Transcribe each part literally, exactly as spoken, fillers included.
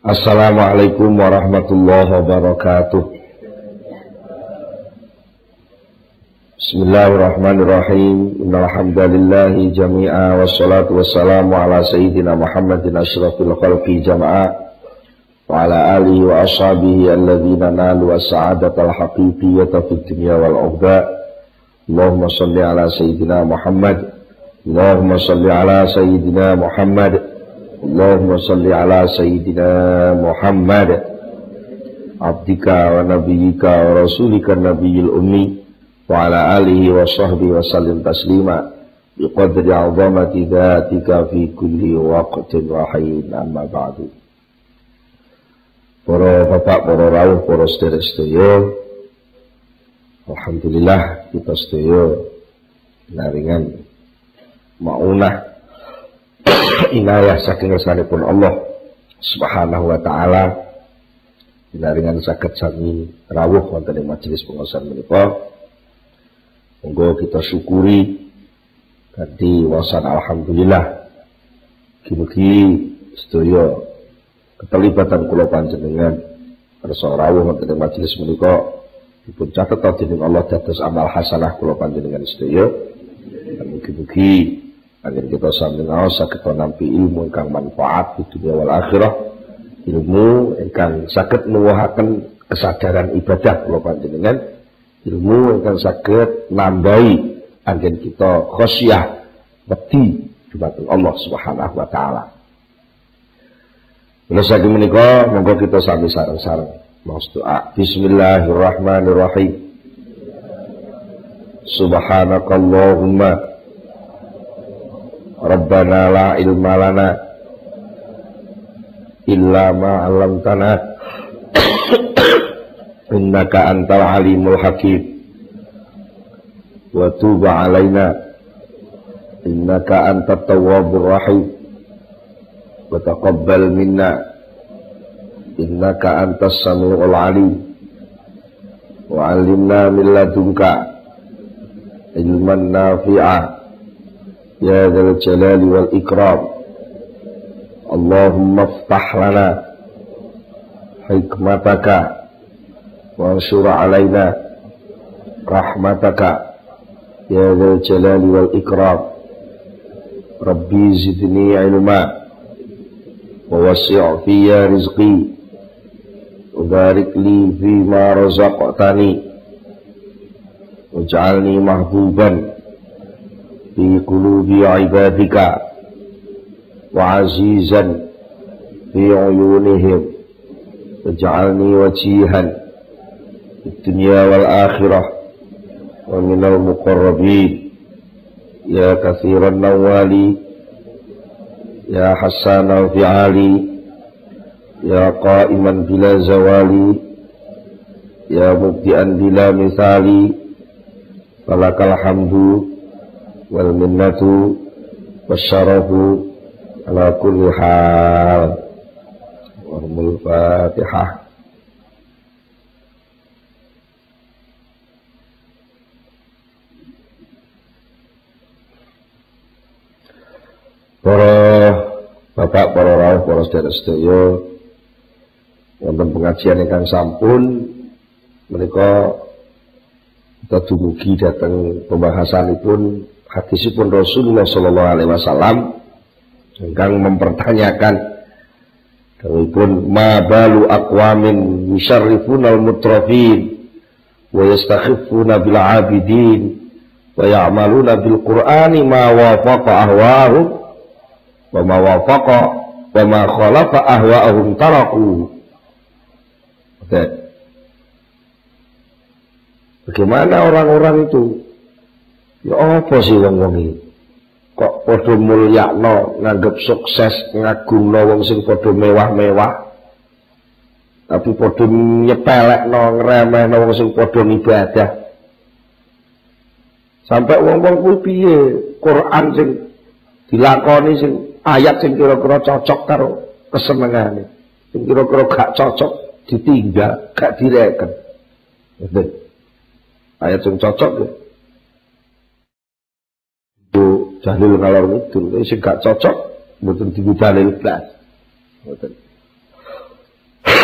Assalamualaikum warahmatullahi wabarakatuh. Bismillahirrahmanirrahim. Innal hamdalillahi jami'a wassalatu wassalamu ala sayyidina Muhammadin asyrafil khalqi jama'a wa ala alihi wa ashabihi alladhina nalu as-sa'adatal haqiqiyyata fid dunya wal ukhra. Allahumma shalli ala sayyidina Muhammad. Allahumma shalli ala sayyidina Muhammad. Allahumma salli ala sayyidina Muhammad abdika wa nabiyyika wa rasulika nabiyil ummi wa ala alihi wa sahbihi wa sallim taslima biqadri azamati dhatika fi kulli waqtin wa hayyin, amma ba'du. Para bapak, para rawuh, para sedherek-sedherek, alhamdulillah kita sedaya naringan maunah inayah saking ngersanipun Allah Subhanahu wa taala inaringan saged sami rawuh wonten ing majelis pengaosan menika. Monggo kita syukuri kanthi wasan alhamdulillah. Mugi-mugi sedaya keterlibatan kula panjenengan kersa rawuh wonten ing majelis menika dipun catet dening Allah dados amal hasanah kula panjenengan sedaya. Mugi-mugi agar kita sambil ngaos saged nampi ilmu ingkang manfaat di dunia wal akhirah, ilmu ingkang saged nuwuhaken kesadaran ibadah kula panjenengan, ilmu ingkang saged nambahi anggen kita khosyah wedi dhumateng Allah Subhanahu wa taala. Menawi saking menika monggo kita sami sareng-sareng maos doa. Bismillahirrahmanirrahim. Subhanakallahumma Rabbana la ilma lana illa ma 'allamtana innaka antal alimul hakim wa tub 'alaina innaka antat tawwabur rahim wa taqabbal minna innaka antas samiul alim wa 'allimna min ladunka ilman nafi'a ya dzal jalali wal ikram. Allahumma iftah lana hikmataka wa anshur alaina rahmataka ya dzal jalali wal ikram. Rabbi zidni ilma wa wasi' fiyya rizqi wa barik li fima razaqtani waj'alni mahbuban fi qulubi ibadika wa azizan fi uyunihim waj'alni wajihan fid dunya wal akhirah wa minal muqarrabin ya katsiran nawali ya hasanal fi'ali ya qa'iman bila zawali ya mubdi'an bila misali falakal hamdu wal minnatu wasyarafu ala kulli hal. Warmul Fatihah. Para bapak, para rawuh, para sedherek-sedherek wonten pengajian ingkang sampun menika kita dumugi dhateng pembahasanipun hadisipun Rasulullah sallallahu alaihi wasallam ingkang mempertanyakan dawuhipun ma balu aqwamin yusharrifuna al-mutrafin wa yastakhifuna bil abidin wa ya'maluna bil qur'ani ma wafaqa ahwa'ahum wa ma wafaqa wa ma khalafa ahwa'ahum taraku. Bagaimana orang-orang itu? Ya apa sih wong-wong iki? Kok padha mulyakno, nganggep sukses, ngagungno wong sing padha mewah-mewah. Tapi padha nyepelekno, ngremehno wong sing padha ibadah. Sampai wong-wong kuwi piye? Quran sing dilakoni sing ayat sing kira-kira cocok karo kesenengane. Sing kira-kira gak cocok ditinggal, gak direken. Ngoten. Ayat sing cocok ya. Dalil ngalor ngidul, sing gak cocok mboten diku dalil blas. Mboten.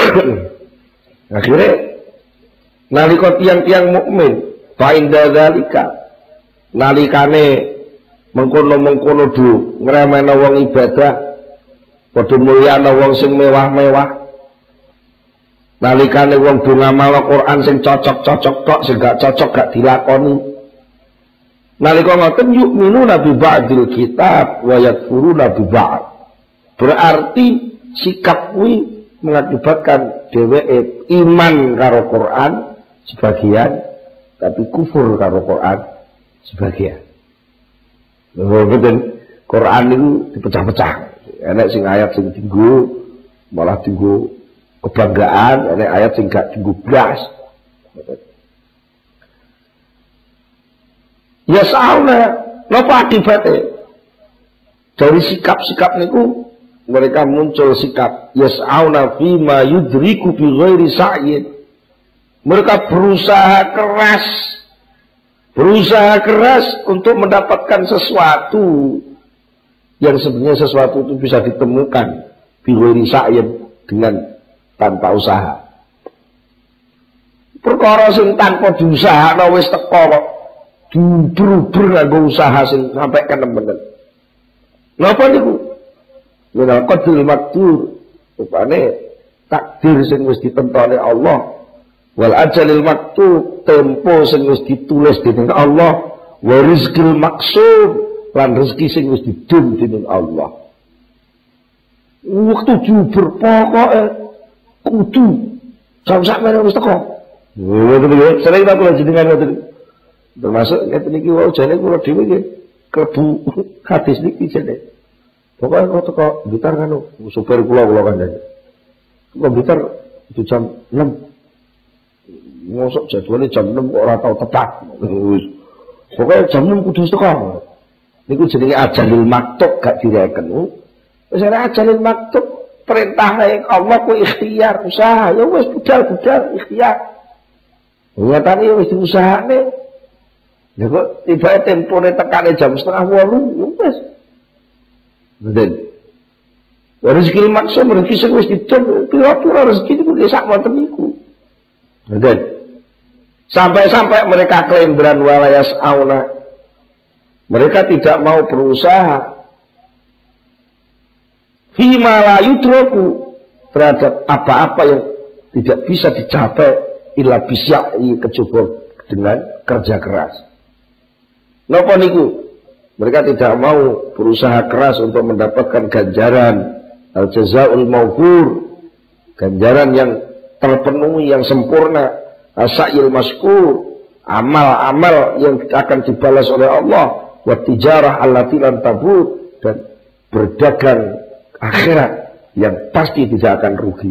Akhirnya nalika tiang-tiang mukmin fa inda dzalika nalikane mengkono-mengkono du ngremehna wong ibadah padha mulyana wong sing mewah-mewah, nalikane wong do ngamal Quran sing cocok-cocok tok sing gak cocok gak dilakoni, nalika ngoten yu'minuna bi ba'dil kitab wa yakfuruna bi ba'd, berarti sikap kuwi mengakibatkan dheweke iman karo Quran sebagian tapi kufur karo Quran sebagian. Betul, Quran itu dipecah-pecah. Enak sing ayat sing tinggu malah tinggu kebanggaan, enak ayat sing gak tinggu blas. Ya sauna, napa akibatnya? Dari sikap-sikap niku mereka muncul sikap yas'auna fima yudriku bi ghairi sa'yin. Mereka berusaha keras berusaha keras untuk mendapatkan sesuatu yang sebenarnya sesuatu itu bisa ditemukan bi ghairi sa'yin, dengan tanpa usaha. Perkara sing tanpa diusahakno wis teko kok diuber-uber nganggo usaha sing sampai kenemen. Napa niku? Wala qadrul maktur, rupane takdir sing wis ditentone Allah, wal ajalil maktub, tempo sing wis ditulis dening Allah, wa rizqil maksud, lan rezeki sing wis didum dening Allah. Waktu jubur pokoke kudu jam sakmene wis teko. Ngoten iki sering tak kula jenengan ngoten. Termasuk ngeten iki wae jane kula dhewe nggih klebu hadis niki jane. Pokoknya kalau teko Blitar kan, supir kula kula kan jadi. Teko Blitar itu jam enam. Ngosok jadwalnya jam enam kok ora tau tepat. Pokoknya jam enam kudu teko. Niku jenenge ajalil maktub gak direken. Wis ana ajalil maktub, perintah Allah ku ikhtiar, usaha. Ya wis budal-budal ikhtiar. Nyatane wis diusahane. Lha kok tiba tempone tekane jam setengah wolu, ya wis. Betul. Rezeki maksud rezeki sing wis didom, pira-pira rezeki niku sak wonten niku. Betul. Sampai-sampai mereka klaim beran walayas auna. Mereka tidak mau berusaha fima la yudraku, terhadap apa-apa yang tidak bisa dicapai illa bisyai, kecuali dengan kerja keras. Napa niku? Mereka tidak mau berusaha keras untuk mendapatkan ganjaran al-jazaul mawfur, ganjaran yang terpenuhi, yang sempurna, as-sa'il maskur, amal-amal yang akan dibalas oleh Allah, wa tijarah allati lan tabur, dan berdagang akhirat yang pasti tidak akan rugi.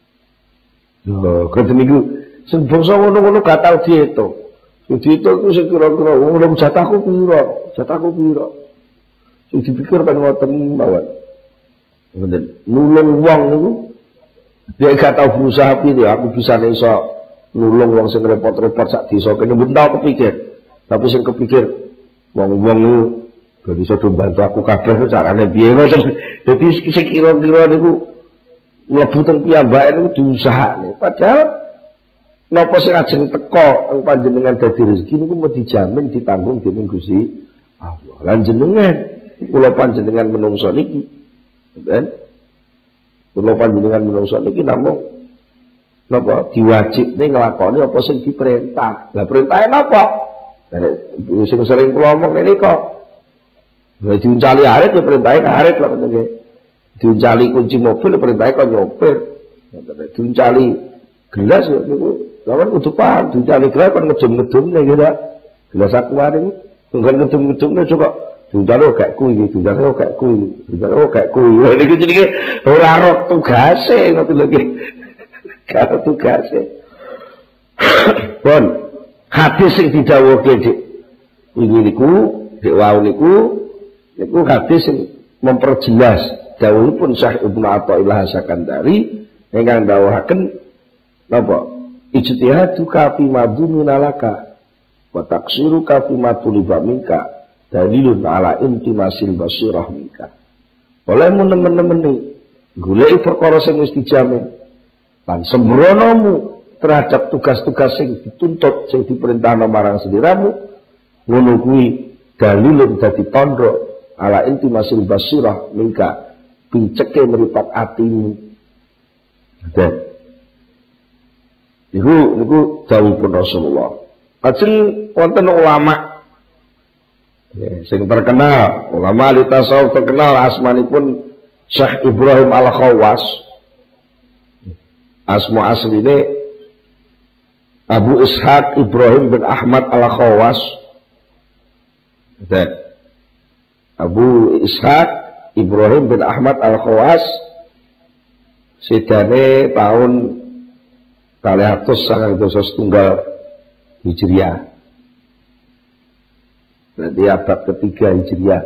Loh, kata niku sing bangsa ngono-ngono gak tau diitung. Jadi itu aku sekira-kira, ngomong jatahku pira, jatahku pira. Sing dipikir kan ngoten mawon. Ngoten, nulung wong niku dia gak tau berusaha piye, aku bisa iso nulung wong sing repot-repot sak desa kene ben tau kepikir. Tapi sing kepikir wong-wong niku ben iso bantu aku kabeh carane piye ngoten. Dadi sekira-kira niku mlebu teng piyambake niku diusahane. Padahal napa sing ajeng teko ing panjenengan dadi rezeki niku mau dijamin ditanggung dening Gusti Allah. Lan jenengan kula panjenengan menungso niki, ben kula panjenengan menungso niki namung napa diwajibne nglakoni apa sing diperintah. Lah perintahe napa? Lah sing sering kula omong ngene kok. Lah diuncali arit ya perintahe arit lho nggih. Diuncali kunci mobil perintahe kok nyopir. Diuncali gelas niku lawan kudu paham, diuncali gelas kan ngedum-ngedumne gitu. Gelas akuare niku tunggal ngedum-ngedumne coba diuncali gak kuwi, diuncali gak kuwi, diuncali gak kuwi. Lha niku jenenge ora ro tugase ngoten lho nggih. Karo tugase. Pun hadis sing didhawuhke Dik iki niku, Dik wau niku niku hadis sing memperjelas dawuhipun Syekh Ibnu Athaillah Sakandari ingkang dawuhaken napa ijtihaduka fi madhunina laka wa taqsiruka fi matuliba minka dalilun ala intimasil basirah minka. Oleh nemen-nemen goleki perkara sing wis dijamin, lan sembronomu terhadap tugas-tugas sing dituntut sing diperintahno marang sliramu ngono kuwi dalilun dadi tandha ala inti masil basirah mingka pinceke meripat atimu. Dan niku niku dawuhipun Rasulullah. Ajeng wonten ulama ya, sing terkenal, ulama ahli tasawuf terkenal asmanipun Syekh Ibrahim Al-Khawas. Asma asline Abu Ishaq Ibrahim bin Ahmad Al-Khawas. Dan Abu Ishaq Ibrahim bin Ahmad Al-Khawas sedane tahun kalih atus sangang dasa setunggal Hijriah. Berarti abad ketiga Hijriah.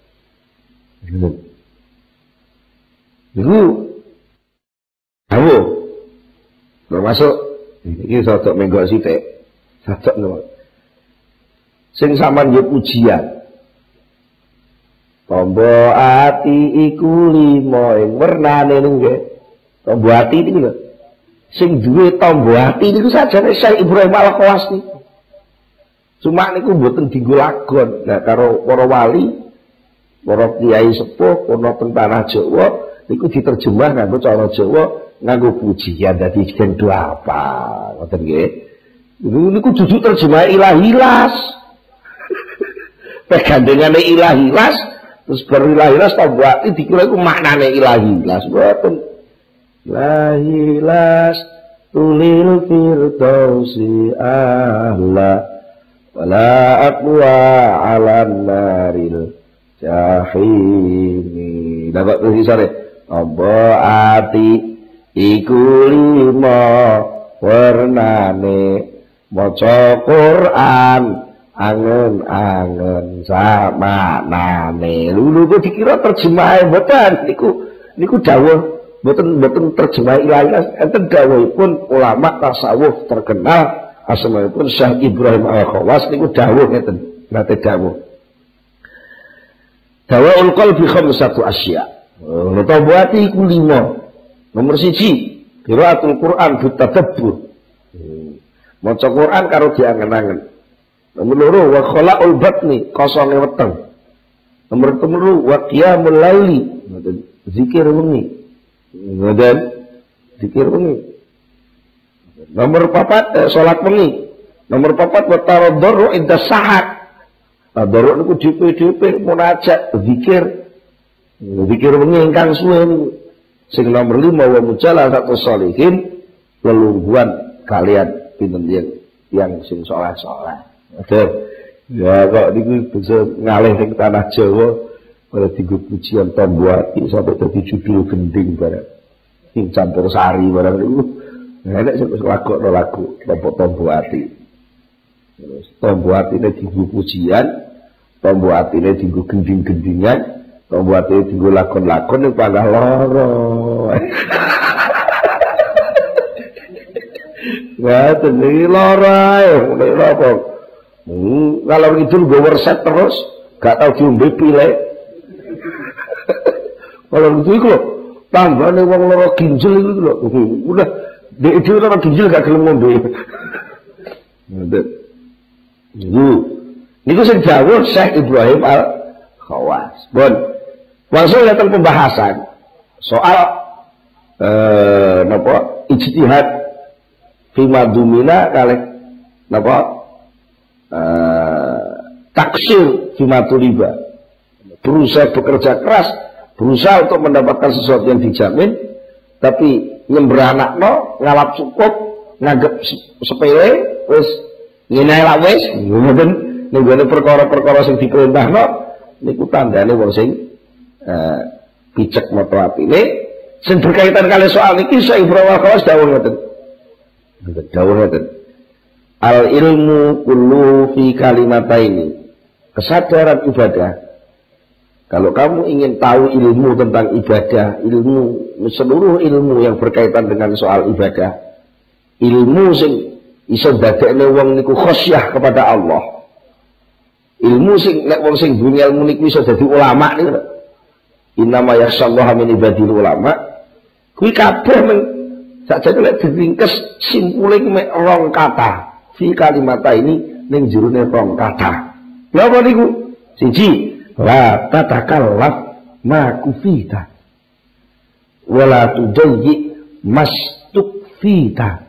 Niku ayo termasuk iki sodok menggok sithik. Sodok nopo. Sing sampean yo pujian. Tombo ati iku limo ing wernane nggih. Tombo ati iki lho. Sing duwe tombo ati niku sajane Syekh Ibrahim Al-Khawas niku. Cuma niku mboten dienggo lagon. Nah karo para wali, para kiai sepuh ana teng tanah Jawa niku diterjemah nganggo cara Jawa, nganggo pujian dadi gendho apa. Ngoten nggih. Niku dudu terjemah ilahilas. Pegandengane ilahilas terus berilahilas tombo ati dikira iku maknane ilahilas. Mboten. Lahilas tulil firdausi ahla wala aqwa ala naril jahimi. Dapat tulisane tombo ati iku lima warnane maca Quran angen-angen sama nane. Lulu kok dikira terjemahe mboten niku niku dawuh mboten mboten terjemah ilahi enten dawuhipun ulama tasawuf terkenal asmanipun Syekh Ibrahim Al-Khawas niku dawuh ngeten nate dawuh. Dawaul qalbi khamsatu asya. Nata buati iku lima. Nomor siji qiraatul Quran bitadabbur. Maca Quran karo diangen-angen. Nomor loro wa khalaqul batni kosonge weteng. Nomor telu wa qiyamul laili zikir wengi. Ngoten zikir wengi. Nomor papat eh, salat wengi. Nomor papat wa taraddur inda sahat. Tadarruk niku dhewe-dhewe munajat zikir. Zikir wengi ingkang suwe niku. Sing nomor lima wa mujalasatu sholihin lelungguhan kalian pinten yang yang sing saleh-saleh. Oke. Ya kok niku bisa ngalih ning tanah Jawa pada tiga pujian tombo ati sampai dadi judul gending barang. Sing campur sari barang niku. Nek sing lakokno lagu kelompok tombo ati. Terus tombo atine dienggo pujian, tombo atine dienggo gending-gendingan, tombo atine dienggo lakon-lakon ning panah loro. Wah, tengi loro ae, nek apa? Hmm, kalau itu gue werset terus, gak tau diombe pile. Kalau itu iku lho, tanggane wong loro ginjel iku lho. Udah dhek dhewe loro ginjel gak gelem ngombe. Ngoten. Niku niku sing dawuh Syekh Ibrahim Al-Khawas. Bon. Langsung datang pembahasan soal eh napa ijtihad fi madumina kalih napa eh taksir fi matuliba. Berusaha bekerja keras, berusaha untuk mendapatkan sesuatu yang dijamin, tapi nyembranakno ngalap cukup, nganggep sepele, wis ngene la wis, ngoten ning gone perkara-perkara sing diperintahno niku tandane wong sing eh picek moto atine sing berkaitan kali soal niki Syekh Ibrahim Al-Khawas dawuh ngoten. Dawuh ngoten. Al ilmu kullu fi kalimataini. Kesadaran ibadah. Kalau kamu ingin tahu ilmu tentang ibadah, ilmu seluruh ilmu yang berkaitan dengan soal ibadah, ilmu sing iso dadekne wong niku khosyah kepada Allah. Ilmu sing nek wong sing dunya ilmu niku iso dadi ulama niku. Innama yakhsyallaha min ibadil ulama. Kuwi kabeh men Sakjane lek diringkes simpule mek rong kata. Fi kalimata ini ning jerone rong kata. Napa niku? Siji, la tatakallaf ma kufita. Wala tudayyi mastukfita.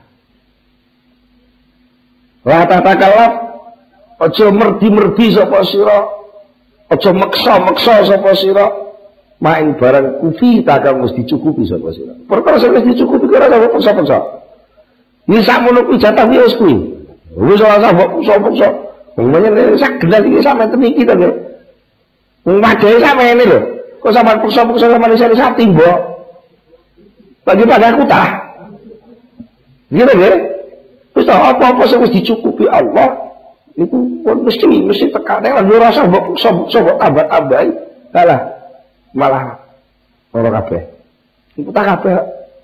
La tatakallaf aja merdi-merdi sapa sira. Aja meksa-meksa sapa sira. Main barang kufita kang wis dicukupi sapa sira. Perkara sing wis dicukupi ora usah paksa-paksa. Iki sakmono kuwi jatah wis kuwi. Wis ora usah paksa-paksa. Wong menyen sak gendal iki sampe niki to nggih. Wong wadehe sampe ngene lho. Kok sampean paksa-paksa sampean isih sati mbok. Bagi pada aku tah. Gitu nggih. Wis apa-apa sing wis dicukupi Allah niku pun mesti mesti tekane lan ora usah mbok paksa-paksa mbok tambah-tambahi. Kalah malah ora kabeh. Iku tak kabeh.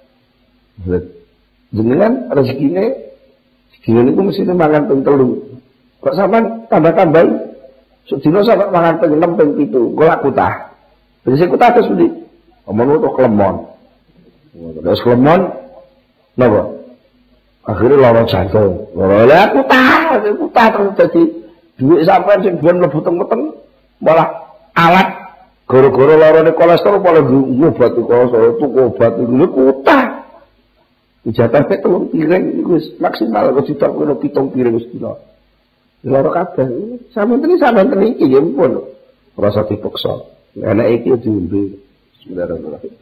Jenengan rezekine dina niku mesti mangan ping telu. Kok sampean tambah-tambahi sedina sampe mangan ping enam ping pitu, kok aku tah. Terus aku tah terus pundi? Omong utawa klemon. Terus klemon napa? Akhirnya lara jantung. Lara aku tah, aku tah terus dadi dhuwit sampean sing ben mlebu teng-teng malah alat gara-gara larane kolesterol malah ngobat kolesterol tuku obat iku kutah. Jatah pek telung piring iku wis maksimal kok ditakoni pitung piring wis dina. Lara kabeh. Sampeyan iki sampeyan iki ya pun rasa dipaksa. Anak iki diombe. Bismillahirrahmanirrahim.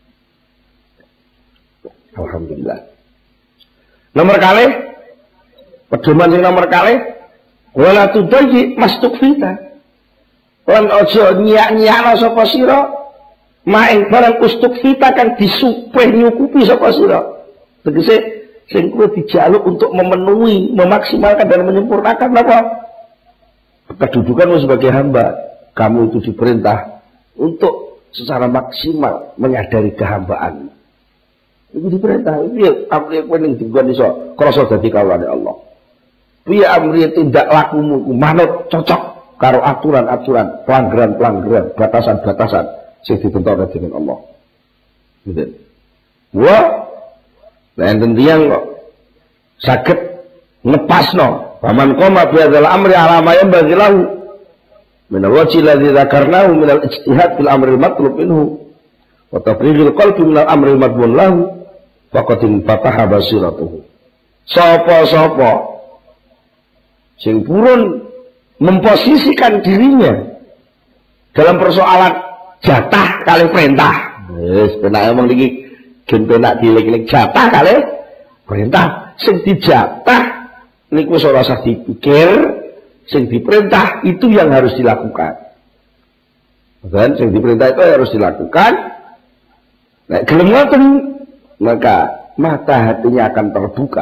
Alhamdulillah. Nomor kali pedoman sing nomor kali wala tudayyi mastukfita. Lan aja nyiak-nyiakno sapa sira maing barang ustukfita kan disupeh nyukupi sapa sira. Tegese sing kuwi dijaluk untuk memenuhi, memaksimalkan dan menyempurnakan apa? Kedudukanmu sebagai hamba. Kamu itu diperintah untuk secara maksimal menyadari kehambaan. Itu diperintah. Piye amri kowe ning dinggon iso krasa dadi kawulane Allah. Piye amri tindak lakumu manut cocok karo aturan-aturan, pelanggaran-pelanggaran, batasan-batasan sing ditentukan dening Allah. Gitu. Wah, enten tiyang kok saged ngepasno. Faman qoma bi hadzal amri ala ma yanbaghi lahu min al-wajhi alladhi dzakarnahu min al-ijtihad fil amri al-matlub minhu wa tafrighil qalbi min al-amri al-madmun lahu faqad fataha basiratuhu. Sapa-sapa sing purun memposisikan dirinya dalam persoalan jatah kali perintah. Wis penak omong iki gen penak dilek-lek jatah kali perintah. Sing dijatah niku ora usah dipikir, sing diperintah itu yang harus dilakukan. Dan sing diperintah itu harus dilakukan. Nek gelem ngoten maka mata hatinya akan terbuka.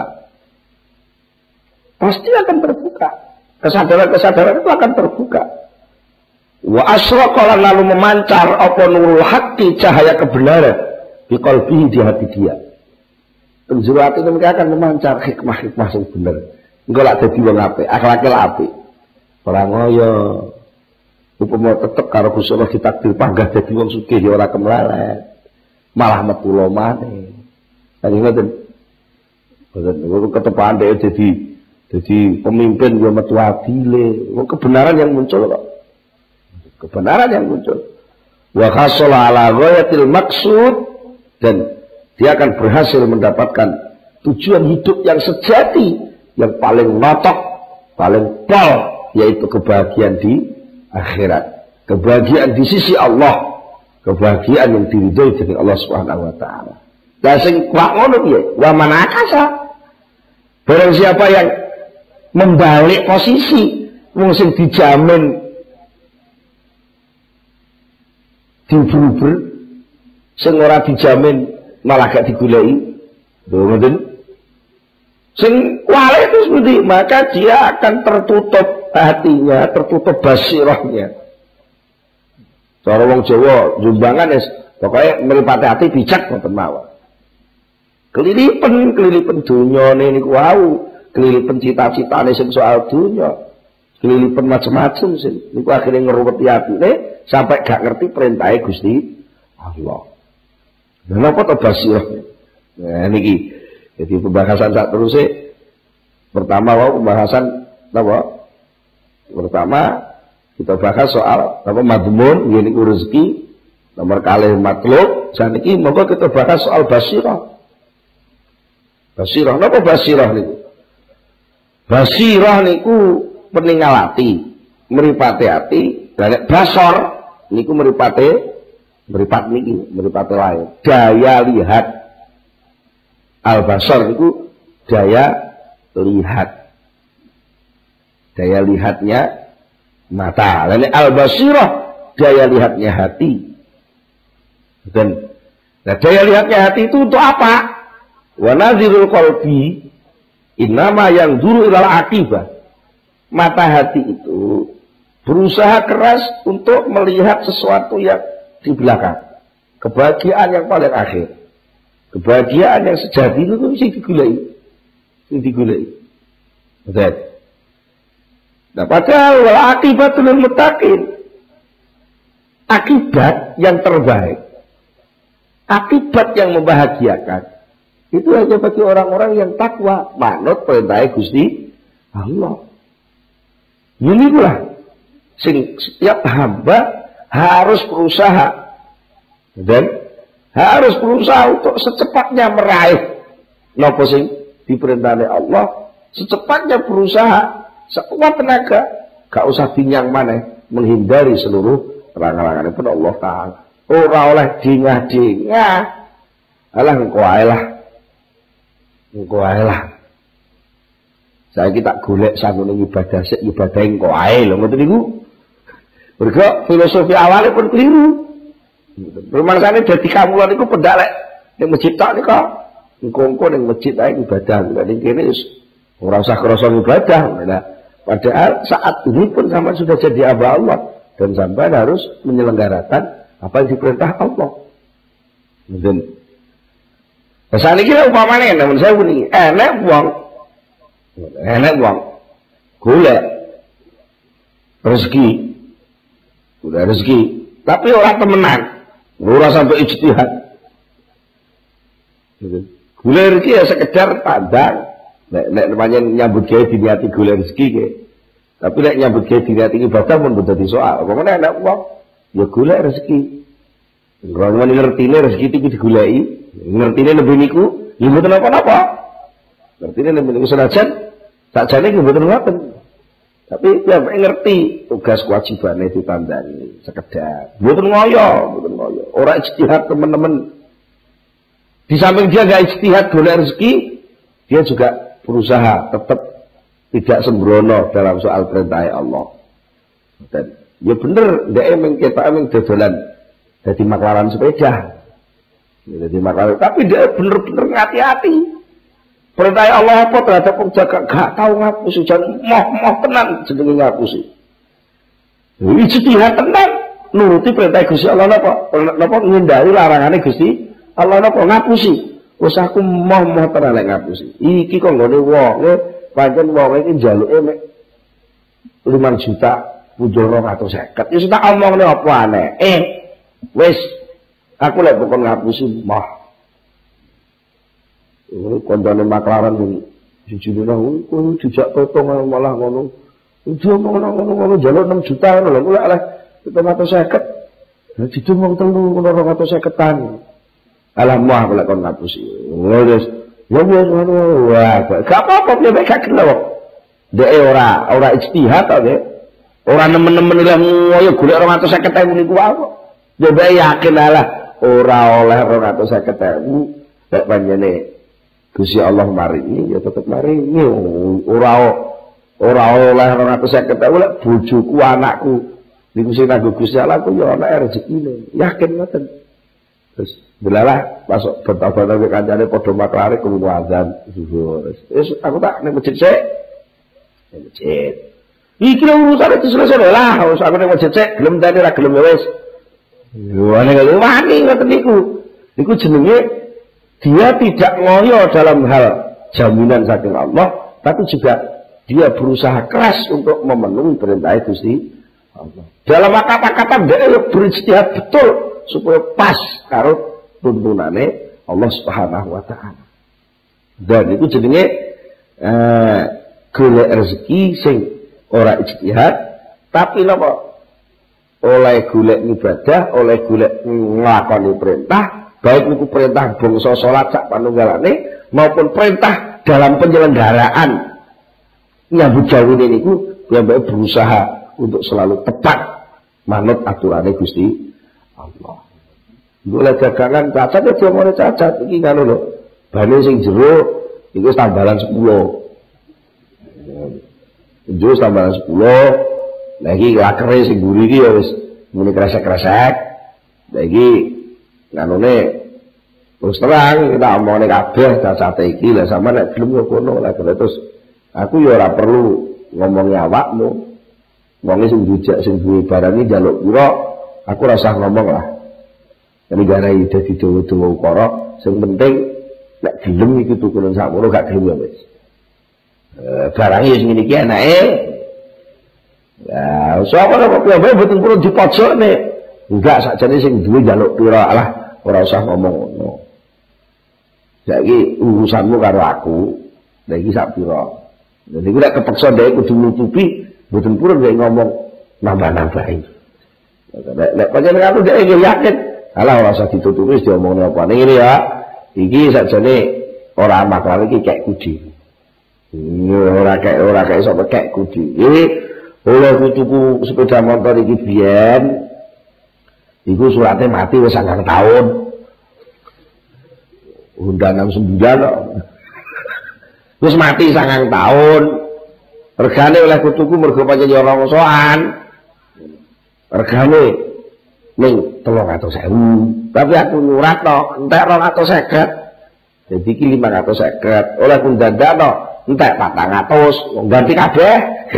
Pasti akan terbuka. Kesadaran-kesadaran itu akan terbuka. Wa asraqa lalu memancar apa nurul haqqi cahaya kebenaran di qalbihi di hati dia. Penjuru hati itu akan memancar hikmah-hikmah yang benar. Engko lak dadi wong apik, akhlake lak apik. Ora ngoyo. Upama tetep karo Gusti Allah ditakdir panggah dadi wong sugih ya ora kemlalet. Malah metu lomane. Kan ngoten. Ngoten ketepan dhek dadi jadi pemimpin yang metu adile, kebenaran yang muncul kok. Kebenaran yang muncul. Wa khasala ala ghayatil maksud, dan dia akan berhasil mendapatkan tujuan hidup yang sejati, yang paling notok, paling pol, yaitu kebahagiaan di akhirat. Kebahagiaan di sisi Allah, kebahagiaan yang diridhoi dari Allah Subhanahu wa taala. Lah sing kuat ngono piye? Wa man akasa. Barang siapa yang membalik posisi wong sing dijamin diuber-uber sing ora dijamin malah gak digoleki lho ngoten sing wale itu seperti maka dia akan tertutup hatinya, tertutup basirahnya. Cara wong Jawa jumbangan wis pokoke mripate ati bijak ngoten mawon. Kelilipen kelilipen dunyane niku wau, kelilipen cita-citane sing soal dunya, kelilipen macam-macam sing niku akhirnya ngeruweti atine sampai gak ngerti perintahe Gusti Allah. Lha napa to basirah? Nah niki Jadi pembahasan saat terus pertama wow, pembahasan apa? Pertama kita bahas soal apa madmun ini rezeki, nomor kali matlub, saniki monggo kita bahas soal basirah. Basirah napa basirah niku? Basirah niku peninggal ati, mripate ati, lan basor niku mripate mripat niki, mripate lain. Daya lihat al-basar itu daya lihat, daya lihatnya mata. Lalu al-basirah daya lihatnya hati. Dan nah, daya lihatnya hati itu untuk apa? Wa nazirul qalbi innama yang dulu ilal akibah. Mata hati itu berusaha keras untuk melihat sesuatu yang di belakang, kebahagiaan yang paling akhir. Kebahagiaan yang sejati itu mesti digulai, mesti digulai. Betul. Nah, padahal wal akibatul muttaqin, akibat yang terbaik, akibat yang membahagiakan, itu hanya bagi orang-orang yang takwa, manut perintah Gusti Allah. Ini pula, sing setiap hamba harus berusaha dan harus berusaha untuk secepatnya meraih nopo sing diperintahkan Allah, secepatnya berusaha sekuat tenaga, gak usah binyang maneh menghindari seluruh terang-terangan pun Allah Ta'ala. Ora oleh dingah-dingah, alah engko ae lah, engko ae lah. Saya kita golek sanggone ibadah sik ibadah engko ae lho ngoten niku. Mergo filosofi awalnya pun keliru. Rumangsane dadi kamulan iku pendak lek ning masjid tok nika. Engko-engko ning masjid ae ibadah, ning kene wis ora usah krasa ibadah. Nah, padahal saat ini pun sampean sudah jadi hamba Allah dan sampean harus menyelenggarakan apa yang diperintah Allah. Mungkin pesan iki upamane namun saya muni enek wong enek wong golek rezeki, golek rezeki tapi orang temenan, ora sampai ijtihad. Golek rezeki ya sekedar pandang, nek nek namanya nyambut gawe diniati golek rezeki ke. Tapi nek nyambut gawe diniati ibadah pun dadi soal. Apa meneh nek wong ya golek rezeki. Kalau ngertine rezeki itu digoleki, ngertine lebih niku, ya mboten apa-apa. Ngertine lebih niku senajan sakjane nggih mboten ngoten. Tapi ya ngerti tugas kewajibannya ditandani sekedar. Mboten ngoyo, mboten ngoyo. Ora ijtihad teman-teman. Di samping dia enggak ijtihad golek rezeki, dia juga berusaha tetap tidak sembrono dalam soal perintah Allah. Dan ya bener, dia emang kita emang dodolan jadi maklaran sepeda, jadi maklaran. Tapi dia bener-bener hati-hati. Perintah Allah apa terhadap penjaga gak tahu ngapusi, jangan moh-moh tenan jenenge ngapusi. Ijtihad tenan nuruti perintah Gusti Allah napa? Napa ngindari larangane Gusti Allah napa ngapusi. Wis aku moh-moh tenan lek ngapusi. Iki kok nggone wonge pancen wonge iki njaluke mek lima juta punjul dua ratus lima puluh. Wis tak omongne apa aneh. Eh wis aku lek bukan ngapusi moh. Ini kondone maklaran ini jujur nang kuwi dijak totong malah ngono. Dia ngono ngono njaluk enam juta ngono lho, kula oleh dua ratus lima puluh. Lah didumong telu dua ratus lima puluh. Alah mah kula kon ngapusi. Wis ya wis ngono. Wah, gak apa-apa piye gak kena kok. Dek ora ora ijtihad to, Dek. Ora nemen-nemen lah ngoyo golek dua ratus lima puluh niku wae kok. Ya bae yakin lah ora oleh dua ratus lima puluh. Lek panjene Gusti Allah maringi ya tetep maringi, ora ora oleh dua ratus lima puluh lek bojoku anakku niku sing nanggo Gusti Allah ku ya ana rezekine, yakin ngoten. Terus delalah masuk bertabar ke kancane padha maklare krungu azan zuhur. Wis aku tak ning masjid sik. Ning masjid. Iki urusan itu selesai lah, wis aku ning masjid sik, gelem tani ra gelem wis. Yo nek wani ngoten niku. Niku jenenge dia tidak ngoyo dalam hal jaminan saking Allah, tapi juga dia berusaha keras untuk memenuhi perintah Gusti Allah. Dalam kata-kata dia berijtihad betul supaya pas karo tuntunane Allah Subhanahu wa taala. Dan itu jenenge eh, golek rezeki sing ora ijtihad, tapi napa? Oleh golek ibadah, oleh golek nglakoni perintah, baik itu perintah bangsa salat sak panunggalane maupun perintah dalam penyelenggaraan nyambut gawe niku piyambake berusaha untuk selalu tepat manut aturannya Gusti Allah. Golek dagangan cacat ya diomongane cacat iki kan lho. Bane sing jero iku tambalan sepuluh. Jero tambalan sepuluh. Lah iki lakere sing mburi iki ya wis muni kresek-kresek. Lah iki nganune terus terang kita omongane kabeh cacate iki lah sampe nek gelem yo kono lah terus aku ya ora perlu ngomongi awakmu. Wong sing dijak sing duwe barang iki njaluk pira aku ora usah ngomong lah. Jadi gara ide di dawa-dawa ukara, sing penting nek gelem iki tukuran sakmono gak gelem ya wis. Eh barang wis ngene iki enake. Ya, sapa kok piye mboten perlu dipojokne. Enggak sakjane sing duwe njaluk pira lah ora usah ngomong ngono. Saiki urusanmu karo aku, lha iki sak pira. Lha niku nek kepeksa dhek kudu nutupi, mboten purun dhek ngomong nambah-nambahi. Nek nek pancen aku dhek yakin alah ora usah ditutupi wis diomongne apa. Ning ngene ya. Iki sakjane ora maklar iki kek kudi. Ora kek ora kek sapa kek kudi. Iki oleh tuku sepeda motor iki biyen. Iku surate mati wis sangang taun. Honda enam sembilan kok. Wis mati sangang taun. Regane oleh kutuku mergo pancen ya ora ngosoan. Regane ning telung atus ewu, tapi aku nyurat no, entek rong atus seket, jadi iki lima ratus seket, oleh aku dadak no, entek patang atus, ganti kabeh.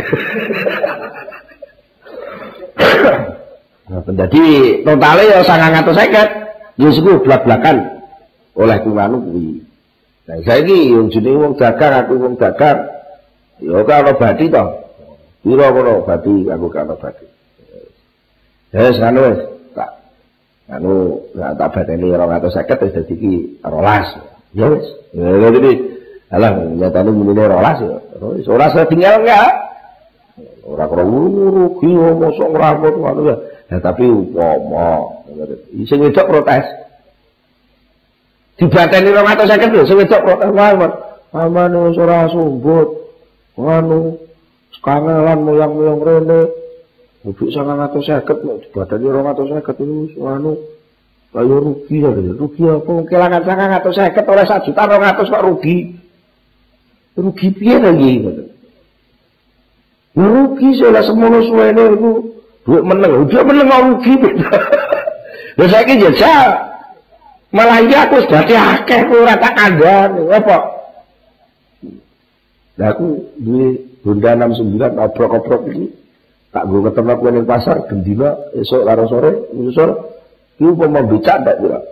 Nah, jadi totalnya ya sangang atus seket, justru belak-belakan oleh kumanu kuwi. Nah, saiki yang jenenge wong dagang, aku wong dagang, ya karo badi to, piro kono badi, aku karo badi. Ya wis anu wis. Anu nggak tak badani orang atau seket wis dadi iki rolas. Ya wis. Ya jadi alah nyatane menine rolas ya. Wis ora setinggal enggak. Ora krungu rugi mosok ngramut ngono ya. Ya tapi umpama sing wedok protes. Dibateni orang atau seket lho sing wedok protes wae. Amane wis ora sumbut. Anu kangelan moyang-moyang rene. Ubik sangang atau seket, dibatani orang atau seket itu, anu, kayak rugi ya, rugi apa? Kelangan sangang atau seket oleh satu juta orang atau kok rugi, rugi piye lagi? Rugi soalnya semuanya suwene itu, duit meneng, udah meneng rugi beda. Ya saya kira jajal, malah iya aku sudah diakeh, aku rata kandang, apa? Nah aku beli Honda enam sembilan obrok-obrok ini. Tak gue ketemu aku di pasar, gendila, esok karo sore, nyusul, itu mau becak tak juga.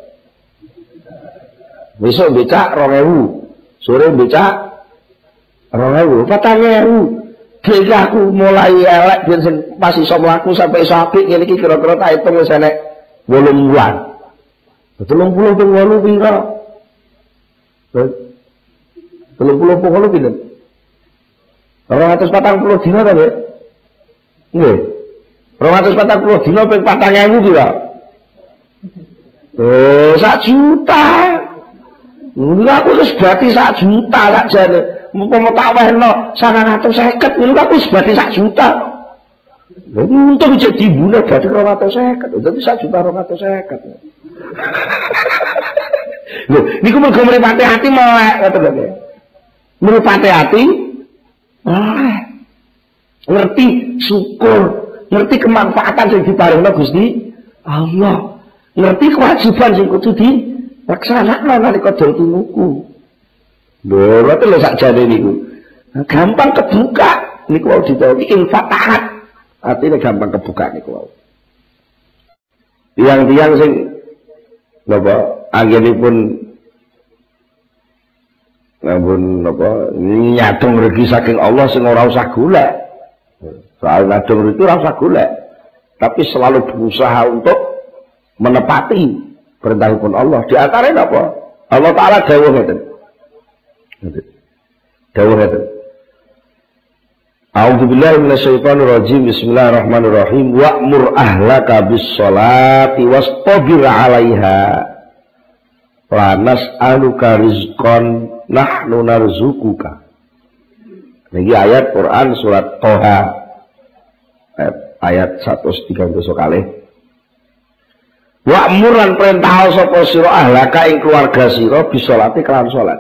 Besok becak rong ewu, sore becak rong ewu, patang ewu. Jadi aku mulai elek, biar masih iso mlaku sampai iso apik, ini kira-kira tak hitung wis enek wolung bulan. Telung puluh ping wolu pira? Telung puluh ping wolu pira? Orang atas patang puluh dina ta, Mbak? Nggih. dua ratus empat puluh dina ping patang ewu kira. Oh, sak juta. Lha aku wis berarti sak juta sak jane. Mumpama tak wehno sangang atus seket, lha aku wis berarti sak juta. Lha untung jadi bune berarti dua ratus seket. Dadi sak juta dua ratus seket. Lho, niku mergo mripate ati melek ngoten lho. Mripate ati melek. Ngerti syukur, ngerti kemanfaatan yang diparingno Gusti Allah, ngerti kewajiban sing kudu dilaksanakno nalika dol tumuku. Lho, ngoten lho sakjane niku. Gampang kebuka niku wau ditawi infak taat. Artinya gampang kebuka niku wau. Tiang-tiang sing napa anggenipun ngampun napa nyadong rezeki saking Allah sing ora usah golek. Soal nadong itu rasa golek, tapi selalu berusaha untuk menepati perintah pun Allah. Di antaranya apa? Allah Ta'ala dawuh ngeten. Dawuh ngeten. A'udzubillahi minasyaitonirrajim. Bismillahirrahmanirrahim. Wa'mur ahlaka bis-sholati wastabir 'alaiha. La nas'aluka rizqan nahnu narzuquka. Niki ayat Quran surat Toha ayat, ayat seratus tiga puluh kali. Wa'mur lan perintah sapa sira ahlaka ing keluarga sira bisolati kelan salat.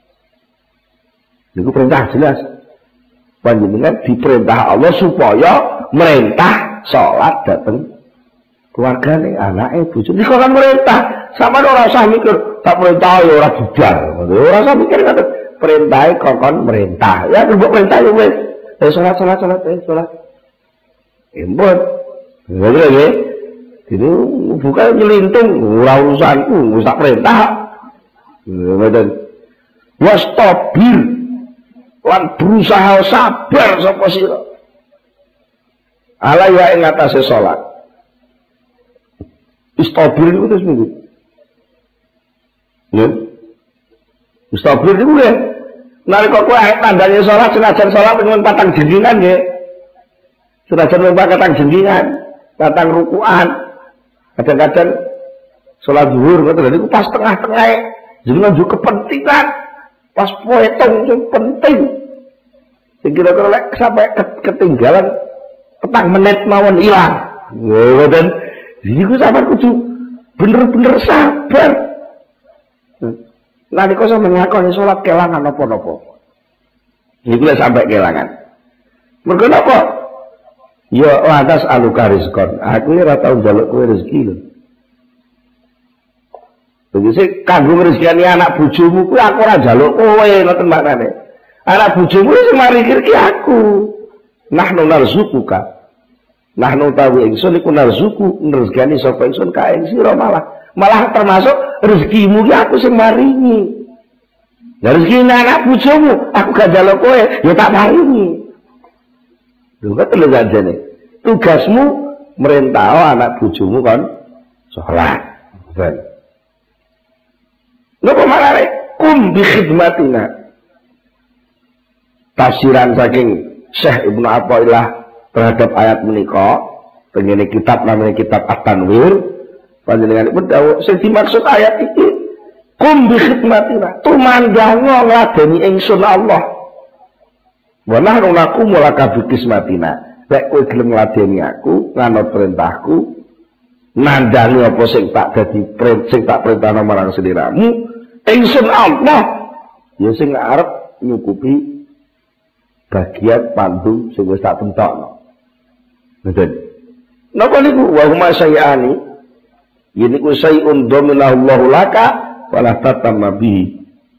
Niku perintah jelas. Panjenengan diperintah Allah supaya merintah salat dateng keluargane, anake, bojone. Niku kan merintah. Sama ora usah mikir tak perintah ya ora budal. Ora usah mikir ngoten. Perintahe kokon merintah. Ya mbok perintah ya wis. Eh salat salat salat eh salat. Embut. Ngono lho. Itu bukan nyelintung, ora urusanku, wis tak perintah. Ngoten. Wastabir lan berusaha sabar sapa sira. Ala ya ing atase salat. Istabir itu terus minggu. Ya. Istabir itu ya. Nalika kowe tandane salat senajan salat ping patang jenggingan nggih. Senajan ping patang jenggingan, patang rukuan. Kadang-kadang sholat zuhur ngoten niku pas tengah-tengah jenengan juga kepentingan pas poetong sing penting sing kira-kira lek sampai ketinggalan petang menit mawon ilang ngoten niku sampean kudu bener-bener sabar nalika sampeyan ngakoni sholat kelangan napa-napa niku lek sampai kelangan mergo napa. Ya lantas aluka rizkon. Aku ini rata njaluk kowe rezeki lho. Begisi kanggo rezekine anak bojomu kuwi aku ora njaluk kowe ngoten maknane. Anak bojomu sing mari rezeki aku. Nahnu narzuquka. Nahnu tawi ingsun iku narzuku rezekane sapa ingsun ka ing sira malah. Malah termasuk rezekimu ki aku sing maringi. Ya rezekine anak bojomu aku gak njaluk kowe ya tak maringi. Lho kok telu jane. Tugasmu merintah anak bojomu kan salat. Ben. Napa marane kum bi khidmatina. Tafsiran saking Syekh Ibnu Athaillah terhadap ayat menika, tengene kitab namanya kitab At-Tanwir, panjenenganipun dawuh sing dimaksud ayat iki kum bi khidmatina. Tumandhango ngladeni ingsun Allah. Wa nahnu naqumu laka bi qismatina. Lek kowe gelem ngladeni aku, nganut perintahku, nandhangi apa sing tak dadi sing tak perintahno marang sliramu, ingsun Allah ya sing arep nyukupi bagian pandung sing wis tak tentokno. Ngoten. Napa niku wa huma syai'ani? Yen iku syai'un dhaminallahu laka wala tatamma bihi.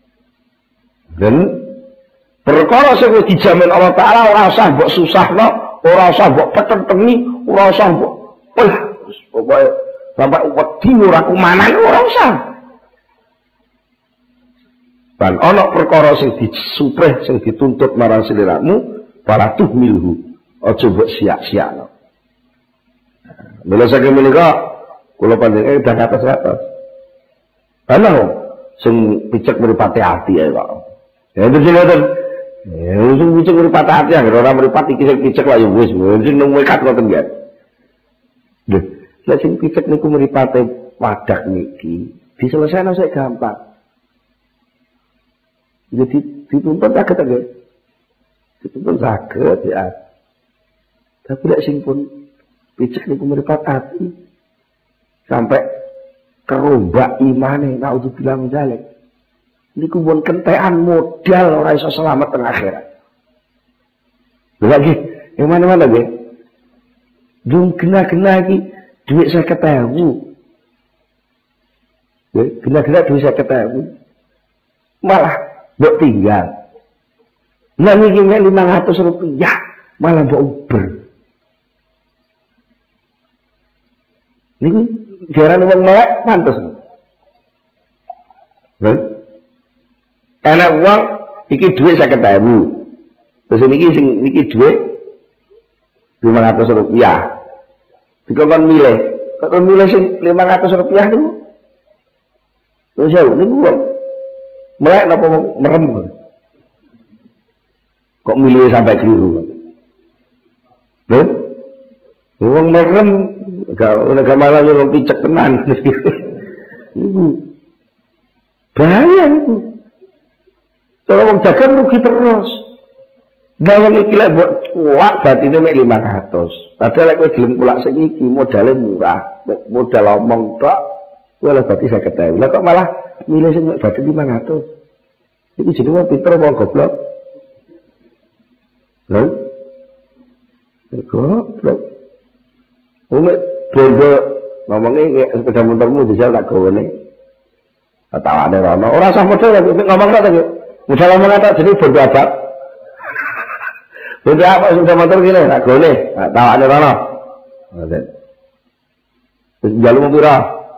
Dan perkara sing wis dijamin Allah Taala ora usah mbok susahno, ora usah mbok petentengi, ora usah mbok wah pokoke sampai wedi ora kumanan ora usah. Dan ana perkara sing disuprih sing dituntut marang sliramu, para tuhmilhu, aja mbok sia-siakno. Mila saking menika kula panjenengan dah atas-atas. Ana sing picek mripate ati ae kok. Ya ngoten. Ya sing picek mripate ati anggere ora mripate iki sing picek lak ya wis, sing nang wekat ngoten nggih. Lho, lek sing picek niku mripate wadah niki, diselesaikan sik gampang. Jadi dituntut saged nggih. Dituntut saged ya. Tapi lek sing pun picek niku mripat ati sampai kerombak imane naudzubillah min dzalik. Niku pun kentekan modal ora iso selamat teng akhirat. Lagi, yang mana-mana nggih? Dung gena-gena iki dhuwit seket ewu. Nggih, gena-gena dhuwit seket ewu. Malah mbok tinggal. Nah niki lima ratus rupiah malah mbok uber. Niki jarane wong melek pantes. Lho. Enak wong iki dhuwit seket ewu. Terus niki sing niki dhuwit lima ratus rupiah. Dikon milih, kok milih sing lima ratus rupiah niku. Terus ya niku wong melek napa merem. Kok milih sampai keliru? Loh? Wong merem gak gak malah yo picek tenan. Iku. Bahaya itu. Kalau wong dagang rugi terus. Dalam iki lek mbok kuat batine mek lima ratus. Padahal lek kowe gelem kulak sing iki modalnya murah, modal omong tok, kowe lek berarti saya ketahui. Lah kok malah milih sing mek batin lima ratus. Iki jenenge wong pinter apa goblok? Lho? Goblok. Wong bondo ngomongnya sepeda motormu dijal tak gawene. Tawane rono. Ora usah modal ngomong tok to. Modal omong tok jenenge bondo abad. Bondo apa sepeda motor kene tak gawene. Tawane rono. Ngoten. Terus jaluk pira?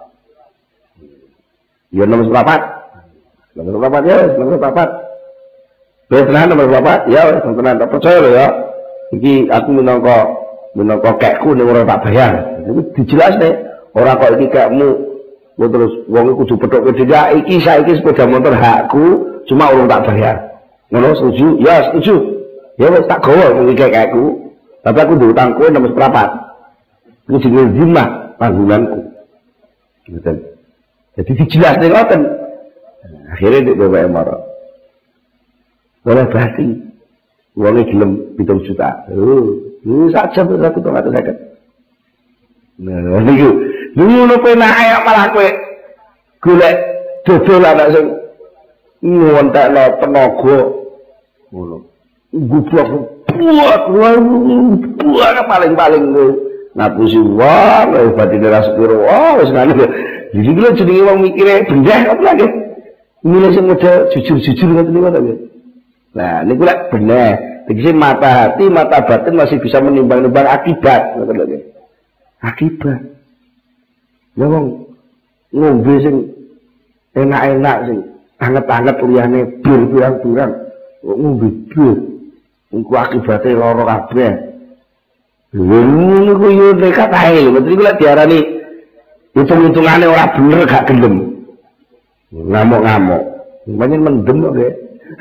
Ya nomor berapa? Nomor berapa ya? Nomor berapa? Benar nomor berapa? Ya, tenan tak percaya lho ya. Iki aku minangka minangka kekku ning ora tak bayar. Iku dijelas nih. Ora kok iki kekmu kok terus wong kudu pethokke dhewe. Iki saiki sepeda motor hakku, cuma urung tak bayar. Ngono setuju? Ya, setuju. Ya wis tak gawa iki kekku. Tapi aku diutang kowe nomor seprapat. Iku jenenge zimah tanggunganku. Ngoten. Jadi dijelas nih ngoten. Akhirnya di bapak marah. Boleh berarti uangnya gelem pitung juta. Oh, lu saja tuh satu tong atau sakit. Nah, niku, lu lu pernah ayak malah kue golek dodol anak sing ngontekno tenaga. Ngono. Gublok buat buat paling-paling kowe ngapusi wong, wis batine ra sepiro. Oh, wis ngene. Jadi lho jenenge wong mikire bendeh apa lagi? Milih sing model jujur-jujur ngoten niku ta. Nah, niku lek bener. Tegese mata hati, mata batin masih bisa menimbang-nimbang akibat, ngoten lho. Akibat. Ya wong ngombe sing enak-enak sing anget-anget liyane bir pirang-pirang. Kok ngombe bir. Iku akibate lara kabeh. Lha niku yo nekat ae lho. Niku lek diarani hitung-hitungane ora bener gak gelem. Ngamuk-ngamuk. Banyak mendem kok ya.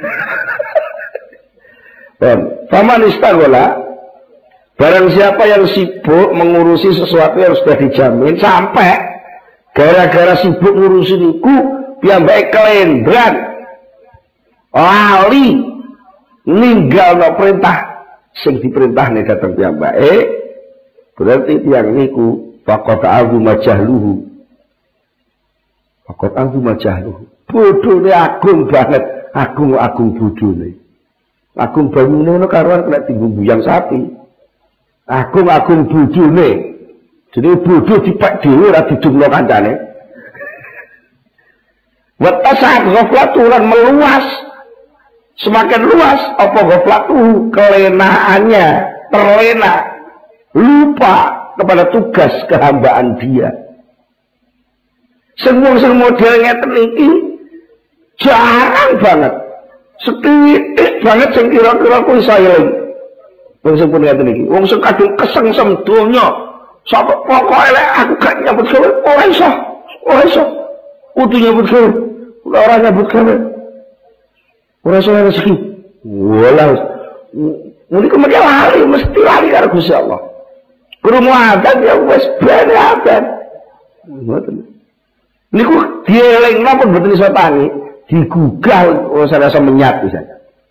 Faman istagola, barang siapa yang sibuk mengurusi sesuatu yang sudah dijamin sampai gara-gara sibuk ngurusin itu piyambake kelendran lali ninggal no perintah sing diperintah nih datang piyambake berarti tiang niku faqad azuma jahluhu faqad azuma jahluhu bodhone agung banget agung-agung bodhone. Agung banyune ngono karuan kena tinggu buyang sapi. Agung-agung bojone. Jenenge bodoh dipek dhewe ora didumno kancane. Wa tasad ghaflatu lan meluas. Semakin luas apa ghaflatu kelenaannya, terlena, lupa kepada tugas kehambaan dia. Semua semua model ngeten iki jarang banget. Setitik banget sing kira-kira kuwi saeling. Wong sing pun ngeten iki, wong sing kadung kesengsem donya. Sapa pokoke lek aku gak nyambut gawe ora iso. Ora iso. Kudu nyambut gawe. Ora nyambut gawe. Ora iso rezeki. Walah. Muni kok mesti lali, mesti lali karo Gusti Allah. Krungu adzan ya wis ben adzan. Ngoten. Niku dielingna pun mboten iso tangi. Digugah oh saya rasa menyat bisa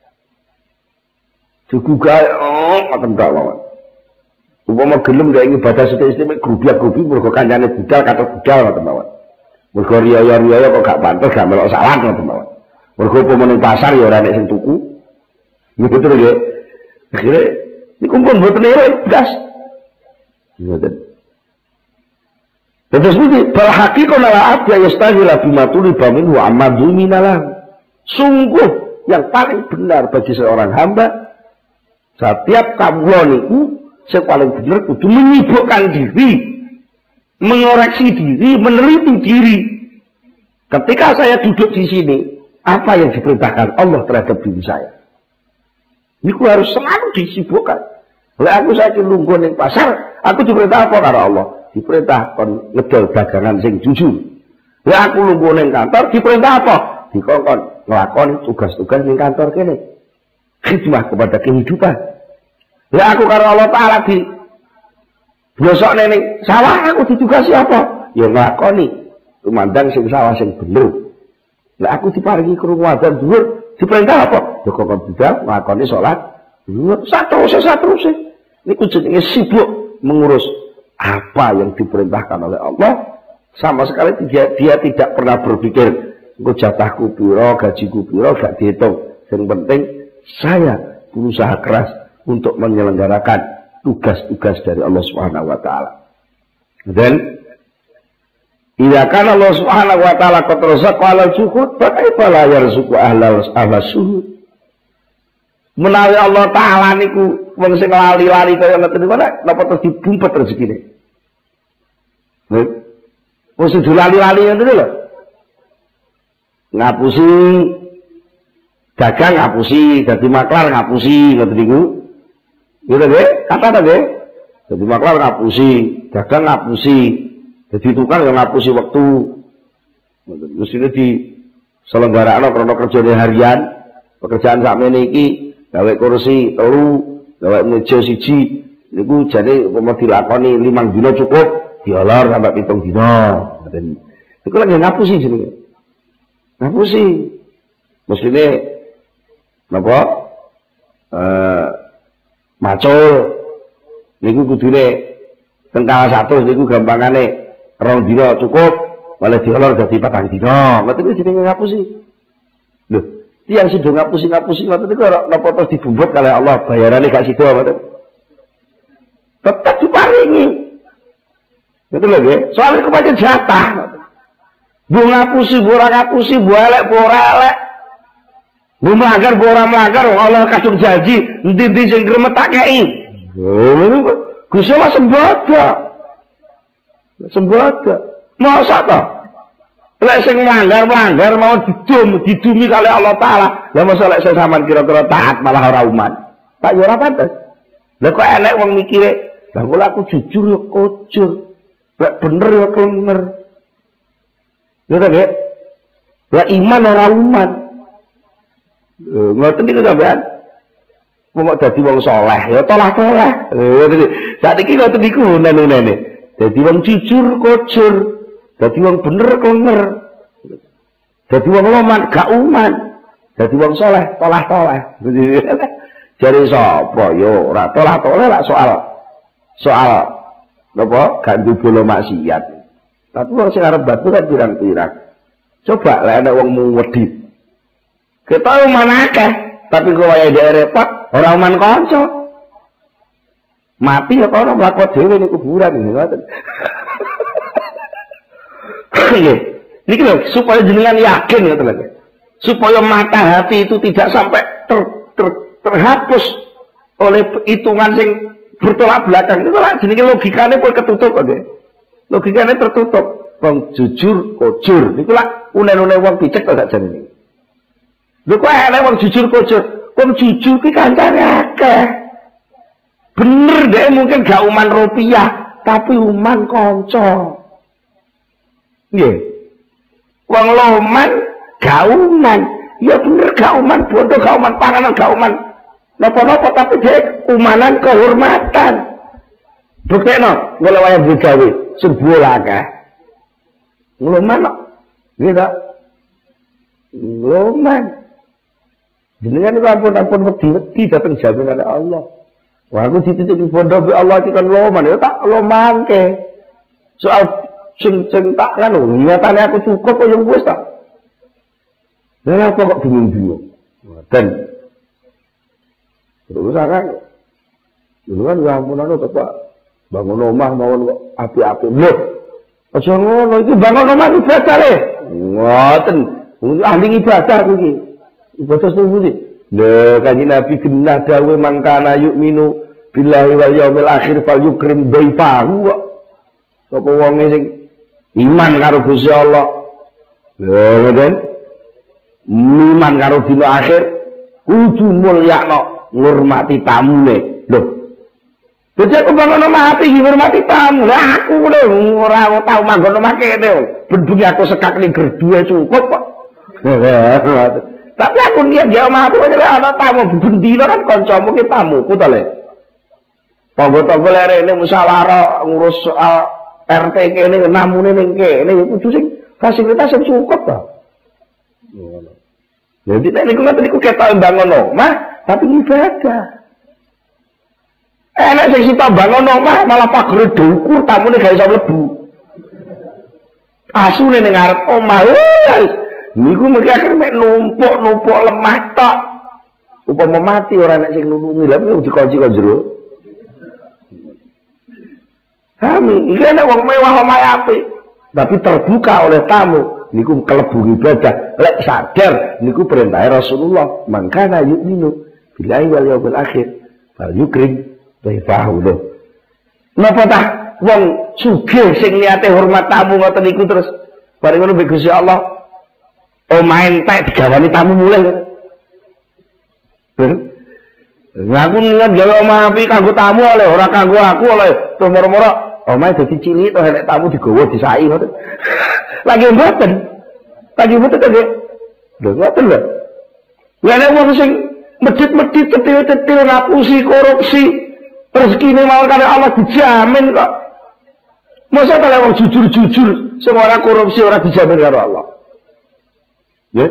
digugah oh makan gak lawan umpama gelem gak ingin badas istimewa grubiak-grubi mergo kancane budal kata budal ngoten mawon mergo riya-riya kok gak pantes gak melok salah ngoten mawon mergo umpama ning pasar ya ora nek sing tuku niku terus nggih akhire niku pun mboten ora blas ngoten. Terus ini bal haqiqatan la abda yastaghila bima tuliba minhu amadu minalah. Sungguh yang paling benar bagi seorang hamba setiap kawula niku sing paling benar kudu menyibukkan diri, mengoreksi diri, meneliti diri. Ketika saya duduk di sini, apa yang diperintahkan Allah terhadap diri saya? Niku harus selalu disibukkan. Oleh aku saya lungguh ning pasar, aku diperintah apa karo Allah? Diperintah kon ngedol dagangan sing jujur. Ya aku lungguh ning kantor diperintah apa? Dikongkon nglakoni tugas-tugas ning kantor kene. khidmah kepada kehidupan. Lah aku karo Allah Taala di blosok nene sawah aku ditugasi apa? Ya nglakoni tumandang sing sawah sing bener. Lah aku diparingi krungu adzan dhuwur, diperintah apa? Ya kok budal nglakoni salat dhuwur sateruse sateruse. Niku jenenge sibuk mengurus apa yang diperintahkan oleh Allah. Sama sekali dia, dia tidak pernah berpikir engko jatahku piro, gajiku piro, gak dihitung. Yang penting saya berusaha keras untuk menyelenggarakan tugas-tugas dari Allah Subhanahu wa taala. Dan idza kana Allah Subhanahu wa taala qad razaqa ala suhud, fa kaifa la yarzuqu ahla ahla suhud. Menawi Allah taala niku wong sing lali-lali kaya ngoten niku napa terus dibumpet rezekine. Nek wis dilali-lali ngoten lho. Ngapusi dagang ngapusi, dadi maklar ngapusi ngoten niku. Gitu nggih, kata ta nggih. Dadi maklar ngapusi, dagang ngapusi, dadi tukang yang ngapusi waktu. Ngoten mestine di selenggarakno krana kerjane harian, pekerjaan sakmene iki gawe kursi telu, gawe meja siji, niku jane umpama dilakoni limang dina cukup, diolor sampai pitung dina. Ngoten. Iku lagi ngapusi jenenge. Ngapusi. Mestine napa? Eh macul niku kudune tengkala satu niku gampangane rong dina cukup, malah diolor dadi patang dina. Ngoten iki jenenge ngapusi. Lho, tiyang sida ngapusi-ngapusi ngoten niku ora napa terus dibumbut kalih Allah, bayarane gak sida ngoten. Tetep diparingi. Ngoten lho nggih. Soale iku pancen jatah. Bu ngapusi, bu ora ngapusi, bu elek, bu ora elek. Bu melanggar, bu ora melanggar, Allah kadung janji, endi-endi sing gremet tak kei. Oh, Gusti Allah sembodo. Sembodo. Masa to? Lek sing melanggar-melanggar mau didum, didumi kali Allah Taala. Lah masa lek sing sampean kira-kira taat malah ora uman. Tak yo ora pantes. Lah kok elek wong mikire, lah kok aku jujur yo kujur. Lek bener yo bener. Yo ta, Dek? Lah iman ora uman. Ngoten niku sampean. Wong kok dadi wong saleh ya tolah-tolah. Ngoten. Saiki ngoten niku nene-nene. Dadi wong jujur kujur. Dadi wong bener bener. Dadi wong loman gak uman. Dadi wong saleh tolah-tolah. Jare sapa yo ora tolah-tolah lak soal soal napa gak ndubul maksiat. Tapi wong sing arep batu kan pirang-pirang. Coba lek ana wong muwedhi. Kita uman akeh, tapi kok wayahe dhek repot, ora uman kanca. Mati ya kono mlaku dhewe ning kuburan ngoten. Nggih. Niki lho supaya jenengan yakin ngoten lho. Supaya mata hati itu tidak sampai ter, ter, terhapus oleh hitungan sing bertolak belakang. Itu lah jenenge logikane pun ketutup nggih. Logikane tertutup. Wong jujur kujur. Niku lah unen-unen wong picek kok gak jenenge. Lho kok ana wong jujur kujur. Wong jujur ki kancane akeh. Bener deh mungkin gak uman rupiah, tapi uman kanca. Nggih. Wong loman gak uman. Ya bener gak uman bodoh, gak uman panganan, gak uman napa-napa, tapi dia umanan kehormatan. Buktekno ngene wae gawe sebuah akeh. Loman kok. Nggih ta? Loman. Jenengan itu ampun-ampun wedi-wedi dateng jaminan Allah. Wah aku dititip pondok Allah iki kan loman ya tak lomangke. Soal sing sing tak kan nyatane aku cukup kok yang wis tak. Lah apa kok bingung-bingung. Dan terus kan dulu kan ya ampun anu Pak bangun omah mawon kok api-api. Lho. Aja ngono iki bangun omah ibadah le. Ngoten. Ahli ibadah aku iki. Ibadah sing lho kanjeng Nabi genah dawuh mangkana yukminu billahi wal yaumil akhir fal yukrim dhaifahu kok. Sapa wonge sing iman karo Gusti Allah. Lho ngoten. Iman karo dina akhir kudu mulyakno ngurmati tamune. Lho. Dadi aku bangun omah ati ngurmati tamu. Lah aku lho ora tau manggon omah kene. Bendunge aku sekak ning gerduwe cukup kok. Tapi aku niat ya omahku adalah ana tamu bendina kan kancamu ki tamuku to le. Tangga-tangga lere ini musyawarah ngurus soal R T kene namune ning kene kudu sing fasilitas sing cukup to. Jadi nek niku ngoten niku ketok bangun omah tapi ibadah. Enak sing sita bangun omah malah pagere dukur tamune gak iso mlebu. Asune ning ngarep omah. Niku mesti akhir mek numpuk-numpuk lemah tok. Upama mati ora nek sing nulungi lha kok dikunci kok jero. Kami iki nek wong mewah omahe apik, tapi terbuka oleh tamu, niku kelebu ibadah. Lek sadar niku perintah Rasulullah, mangkana yu'minu billahi wal yaumil akhir, fal yukrim dhaifahu. Napa tah wong sugih sing niate hormat tamu ngoten niku terus bareng ngono mbek Gusti Allah omahe entek digawani tamu mulai. Ngaku niat gawe omah apik kanggo tamu oleh ora kanggo aku oleh terus moro-moro omahe dadi cilik to nek tamu digawa disai ngoten. Lagi mboten. Lagi mboten to nggih. Lho ngoten lho. Lah nek wong sing medhit-medhit cetil-cetil ngapusi korupsi rezekine mau karo Allah dijamin kok. Masa kalau wong jujur-jujur sing ora korupsi ora dijamin karo Allah. Ya.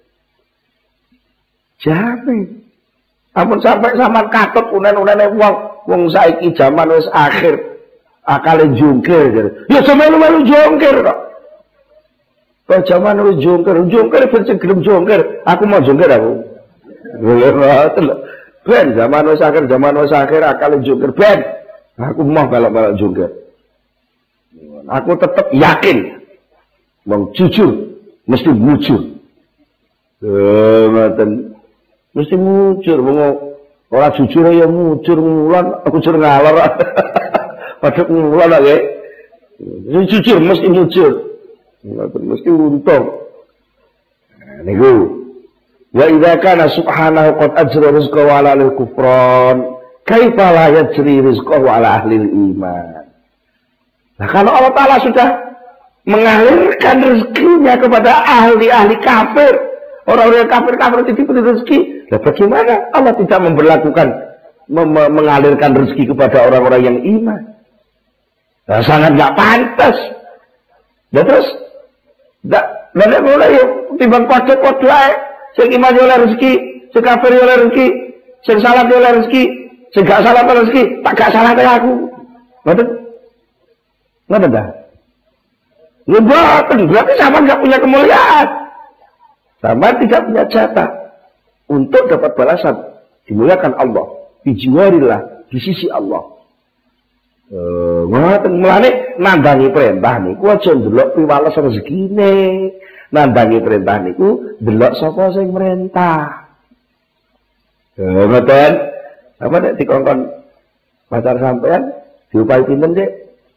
Jamin. Ampun sampai sampean katut unen-unene wong wong saiki jaman wis akhir. Akale jungkir. Ya semelu-melu jungkir kok. Kok jaman wis jungkir, jungkir ben gelem jungkir. Aku mau jungkir aku. Lha ngoten lho. Ben zaman wis akhir, zaman wis akhir akale jungkir ben. Aku mau balak-balak jungkir. Aku tetap yakin wong jujur mesti mujur. Eh ngoten. Mesti mujur wong ora jujur ya mujur ngulon, mujur ngalor. Padha ngulon lho. Sing jujur mesti mujur. Ngoten mesti untung. Nah, niku. Wa idza kana subhanahu qad ajra rizqahu ala ahli kufran, kaifa la yajri rizqahu ala ahli iman. Nah, kalau Allah Ta'ala sudah mengalirkan rezekinya kepada ahli-ahli kafir, orang-orang kafir-kafir itu diberi rezeki, nah bagaimana Allah tidak memberlakukan mengalirkan rezeki kepada orang-orang yang iman? Nah, sangat nggak pantas. Dan terus, dan mulai timbang kode-kode aja, sing iman oleh rezeki, sing kafir oleh rezeki, sing salat oleh rezeki, sing gak salat oleh rezeki, tak gak salat kayak aku. Betul? Nggak ada. Ngebatin, berarti sama nggak punya kemuliaan. Sama tidak punya jatah untuk dapat balasan. Dimuliakan Allah, dijiwarillah, di sisi Allah. Eh, ngoten mulane nandangi perintah niku aja ndelok piwales rezekine. Nandangi perintah niku ndelok sapa sing merintah. Eh, ngoten. Apa nek dikongkon pacar sampean diupahi pinten, Dik?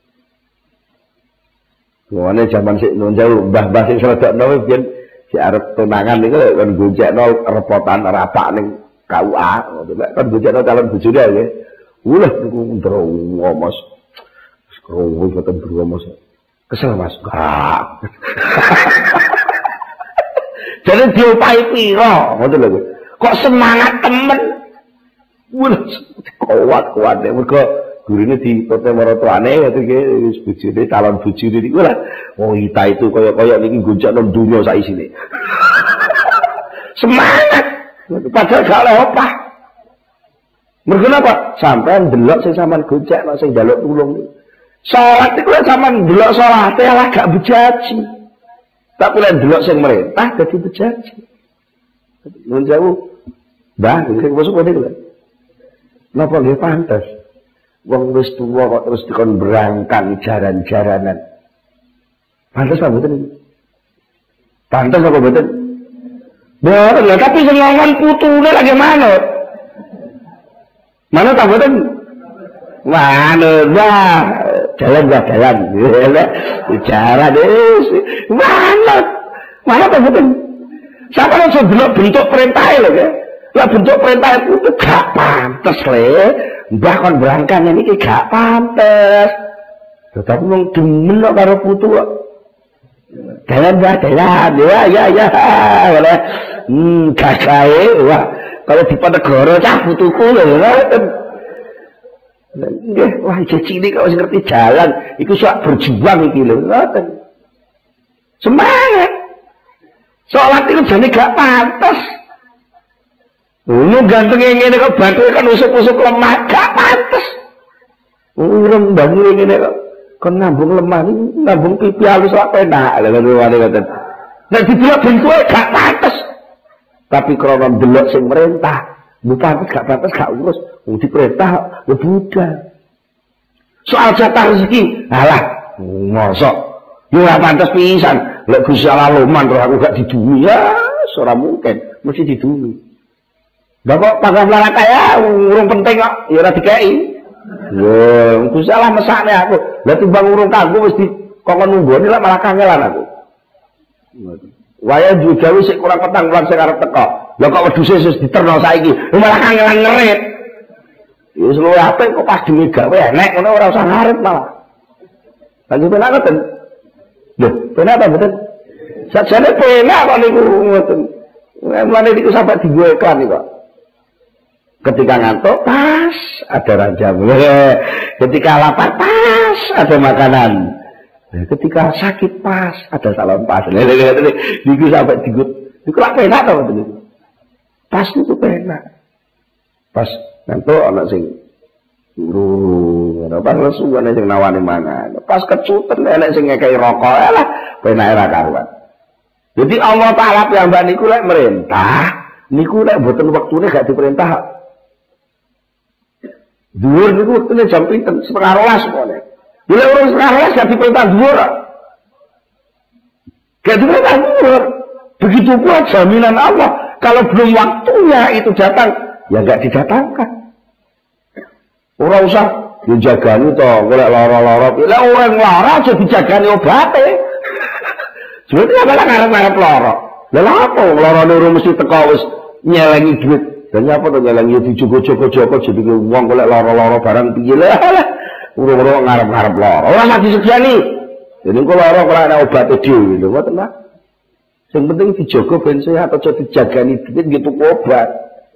Ngene jaman sik nun jauh, mbah-mbah sing sredakno biyen si arep tunangan niku kan goncekno repotan rapak ning K U A, ngoten lek kan goncekno calon bojone nggih. Ulah niku ndrowo Mas. Skrowo boten ndrowo Mas. Kesel Mas. Enggak. Jadi diopahi piro, ngoten lho. Kok semangat temen. Ulah kuat-kuat mergo gurine ditote maratuane ngoten iki wis bojone calon bojone niku lah. Wong kita itu kaya-kaya niki goncekno donya sak isine. Semangat. Padahal gak oleh opah. Mergo napa? Sampeyan ndelok sing sampean goncekno sing njaluk tulung. Salat iku sampean ndelok salate lah gak bejaji. Tapi lek ndelok sing merintah dadi bejaji. Nuwun sewu. Mbah, sing masuk ngene lho. Napa nggih pantes? Wong wis tuwa kok terus dikon berangkang jaran-jaranan. Pantes apa mboten? Pantes apa mboten? Boten, tapi sing ngomong putune lagi manut. Manut apa mboten? Manut, wah, jalan ya jalan. Jalan wis manut. Manut apa mboten? Sampe langsung delok bentuk perintahe lho ya. Lah bentuk perintah itu gak pantes le. Mbah kon berangkang ini gak pantes. Tetapi wong demen karo putu kok. Jalan ya, jalan ya, ya, ya. Boleh. Hmm, gagahe wah. Kalau di Ponegoro cah putuku lho ngoten. Nggih, wah iki cilik kok wis ngerti jalan, iku sok berjuang iki lho ngoten. Semangat. Salat itu jane gak pantes. Ngono gantenge ngene kok bathuke kan usuk-usuk lemah, gak pantes. Urung bangun ngene kok kon nambung lemah, nambung pipi halus lak penak lho ngene ngoten. Nek didelok bentuke gak pantes. Tapi krana delok sing merintah, bu pantes gak pantes gak urus, wong diperintah ya budal. Soal jatah rezeki, alah, mosok yo ora pantes pisan. Lek Gusti Allah loman terus aku gak didumi ya, ora mungkin, mesti didumi. Lah kok pangkat larak kaya urung penting kok, ya ora dikeki. Yo, Gusti Allah mesakne aku. Lah timbang urung kanggo wis dikongkon nunggoni lek malah kangelan aku. Waya juga wis kurang petang bulan sing arep teko. Lah kok wedhuse wis diterno saiki, malah kangelan ngerit. Ya wis luwih apik kok pas dhewe gawe enek ngono ora usah ngarep malah. Lagi penak ngoten. Lho, penak apa mboten? Sajane penak kok niku ngoten. Mulane niku sampe dienggo iklan kok. Ketika ngantuk pas ada ranjang. Ketika lapar pas ada makanan. Ketika sakit pas ada salon pas. Niku sampai digut. Niku lak penak to ngoten. Pas niku penak. Pas ngantuk ana sing guru, ana pas lesu ana sing nawani mangan. Pas kecuten ana sing ngekeki rokok. Alah, penake ra karuan. Jadi Allah Taala piyambak niku lek merintah, niku lek mboten wektune gak diperintah. Dhuwur niku wektune jam pinten? setengah rolas semuanya. Bila orang setengah rolas gak diperintah dhuwur. Gak diperintah dhuwur. Begitu pula jaminan Allah. Kalau belum waktunya itu datang, ya gak didatangkan. Orang usah dijagani toh, golek lara-lara. Lah orang lara aja dijagani obate. Sebetulnya malah ngarep-ngarep lara. Lah apa lara niku mesti teko wis nyelengi duit. Dan apa to nyelengi dijogo-jogo-jogo jadi wong golek lara-lara barang piye lah. Urung-urung ngarep-ngarep lara. Ora mati disegani. Jadi kok lara kok ana obate dhewe lho, ngoten lah. Sing penting dijogo ben sehat aja dijagani duit gitu obat.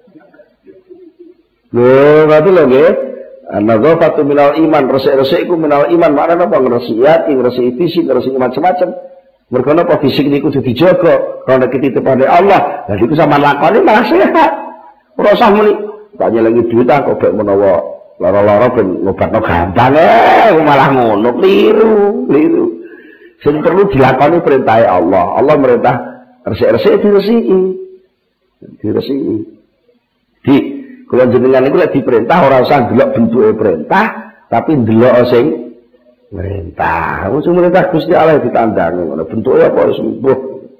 Lho, ngoten lho nggih. An-nadhafatu minal iman, resik-resik iku minal iman. Maknane apa? Ngresiki ati, ngresiki fisik, ngresiki macam-macam. Mergo napa fisik niku kudu dijaga, karena titipane Allah. Lah iku sampean lakoni malah sehat. Ora usah muni, tak nyelengi duit kok bek menawa lara-lara ben ngobatno gampang eh malah ngono, kliru, kliru. Sing perlu dilakoni perintah Allah. Allah merintah resik-resik diresiki. Diresiki. Di kula jenengan niku lek diperintah ora usah ndelok bentuke perintah, tapi ndelok sing merintah. Wong sing merintah Gusti Allah ditandangi ngono. Bentuke apa wis mbuh.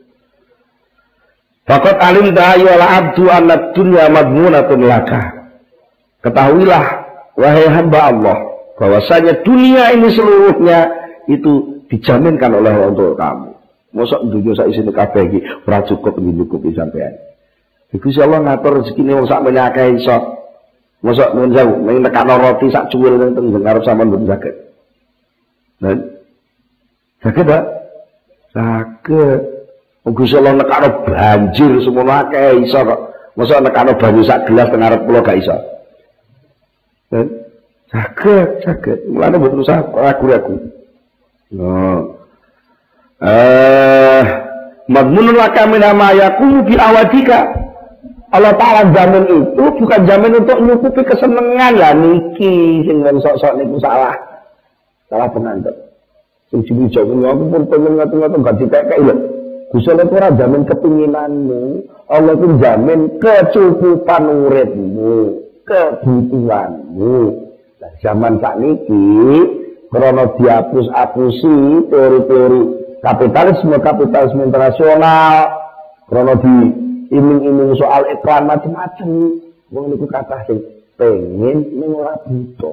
Faqat alim ya la abdu anna dunya madmunatun laka. Ketahuilah wahai hamba Allah bahwasanya dunia ini seluruhnya itu dijaminkan oleh Allah untuk kamu. Mosok dunya sak isine kabeh iki ora cukup nyukupi sampean. Gusti Allah ngatur rezekine wong sak meneh akeh iso. Mosok nuwun sewu, ning nekakno roti sak cuwil ning teng ngarep sampean mboten saged. Nah, saged ta? Saged. Gusti Allah nekakno banjir semono akeh iso kok. Mosok nekakno banyu sak gelas teng ngarep kula gak iso. Nah, saged, saged. Mulane mboten usah ragu-ragu. No. Eh, madmunun laka min ma yakunu bi awadika. Allah Ta'ala jamin itu bukan jamin untuk nyukupi kesenangan lah niki sing sok-sok niku salah salah pengantar sing diwijak aku pun pengen ngatur-ngatur gak dikekeki lho Gusti Allah ora jamin kepinginanmu Allah itu jamin kecukupan uripmu kebutuhanmu lah zaman sakniki krana dihapus-hapusi teori-teori kapitalisme kapitalisme internasional krana di iming-iming soal iklan macam-macam. Wong niku kathah sing pengen ning ora butuh.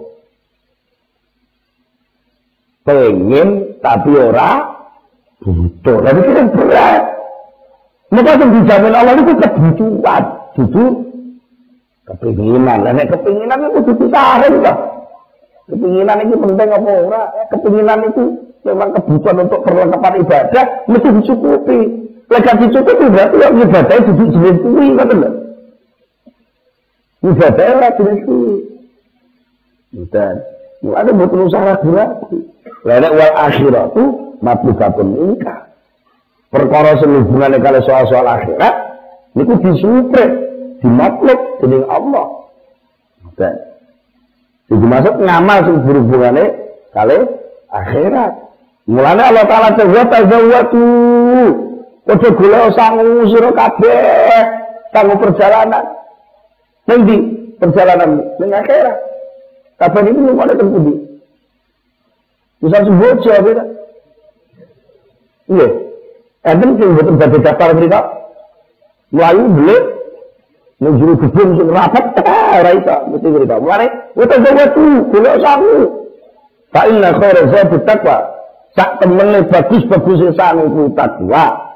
Pengen tapi ora butuh. Lah iki kan berat. Maka sing dijamin Allah niku kebutuhan, dudu kepinginan. Lah nek kepinginan iku kudu disaring to. Kepinginan iki penting apa ora? Kepinginan itu memang kebutuhan untuk perlengkapan ibadah mesti dicukupi. Lagi dicukupi berarti yang ibadahnya duduk jenis kuwi, ngoten lho. Ibadahnya ora jenis kuwi. Dan mulane mboten usah ragu-ragu. Lah nek wal akhiratu matlubatun minka. Perkara sing hubungane kali soal-soal akhirat niku disupreh, dimatlub dening Allah. Dan iki maksud ngamal sing berhubungane kali akhirat. Mulane Allah Taala tawat tazawwatu. Ojo golek sangu sira kabeh kanggo perjalanan. Ning ndi perjalanan ning akhirat? Kabeh iki lumane teng pundi? Misal sembojo apa? Iya. Enten sing mboten badhe daftar mriko. Mlayu beli njuru gedung sing rapat ora iso mesti mriko. Mulane ojo tazawwatu golek sangu. Fa inna khairaz zati taqwa. Sak temene bagus-bagus sangu ku takwa.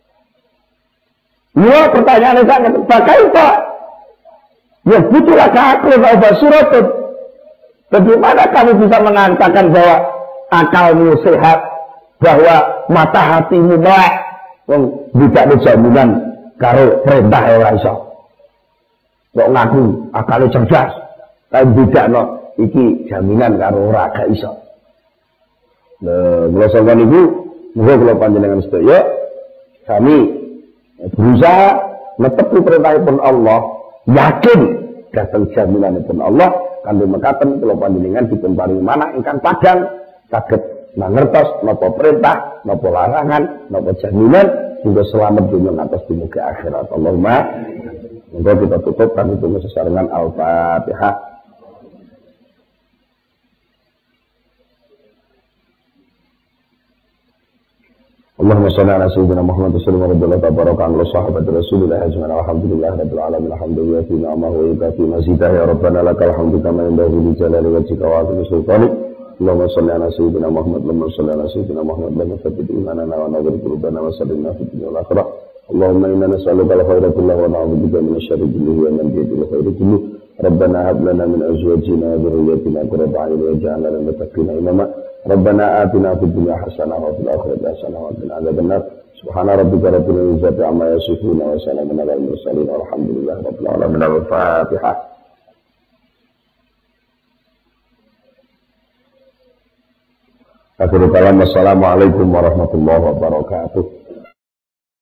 Ya pertanyaannya sangat bagaimana? Ya butuhlah akal bahwa surat. Bagaimana kamu bisa mengatakan bahwa akalmu sehat, bahwa mata hatimu baik, yang tidak ada jaminan karo perintah ora iso. Kok ngaku akalnya cerdas, tapi tidak no, iki jaminan karo ora gak iso. Nah, kalau sampeyan iku, muga kula panjenengan sedaya kami berusaha netepi perintahipun Allah, yakin datang jaminanipun Allah kanggo mekaten kula panjenengan dipun paringi manah ingkang padhang saged mangertos napa perintah, napa larangan, napa jaminan hingga selamat dunia ngantos dumugi akhirat. Allahumma monggo kita tutup kanthi donga sesarengan Al-Fatihah. Allahumma shalli ala sayyidina Muhammad wa sallim wa baraka ala sahabati Rasulillah ajma'in alhamdulillah rabbil alamin alhamdulillah fi ni'amahu wa yukafi mazidah ya rabbana lakal hamdu kama yanbaghi li jalali wajhika wa 'azimi sultanik. Allahumma shalli ala sayyidina Muhammad wa shalli ala sayyidina Muhammad wa thabbit imanana wa nawwir qulubana wa sallimna fid dunya wal akhirah. Allahumma inna nas'aluka al-khayra kullahu wa na'udzubika min asy-syarri kullihi wa min bidil khairi kullihi. Rabbana hab lana min azwajina wa dhurriyyatina qurrata a'yun waj'alna lil muttaqina imama. Rabbana atina fid dunya hasanah wa fil akhirati hasanah wa qina adzabannar. Subhana rabbika rabbil izzati amma yasifun wa salamun alal mursalin walhamdulillahi rabbil alamin. Al-Fatihah. Akhirul kalam, wassalamualaikum warahmatullahi wabarakatuh.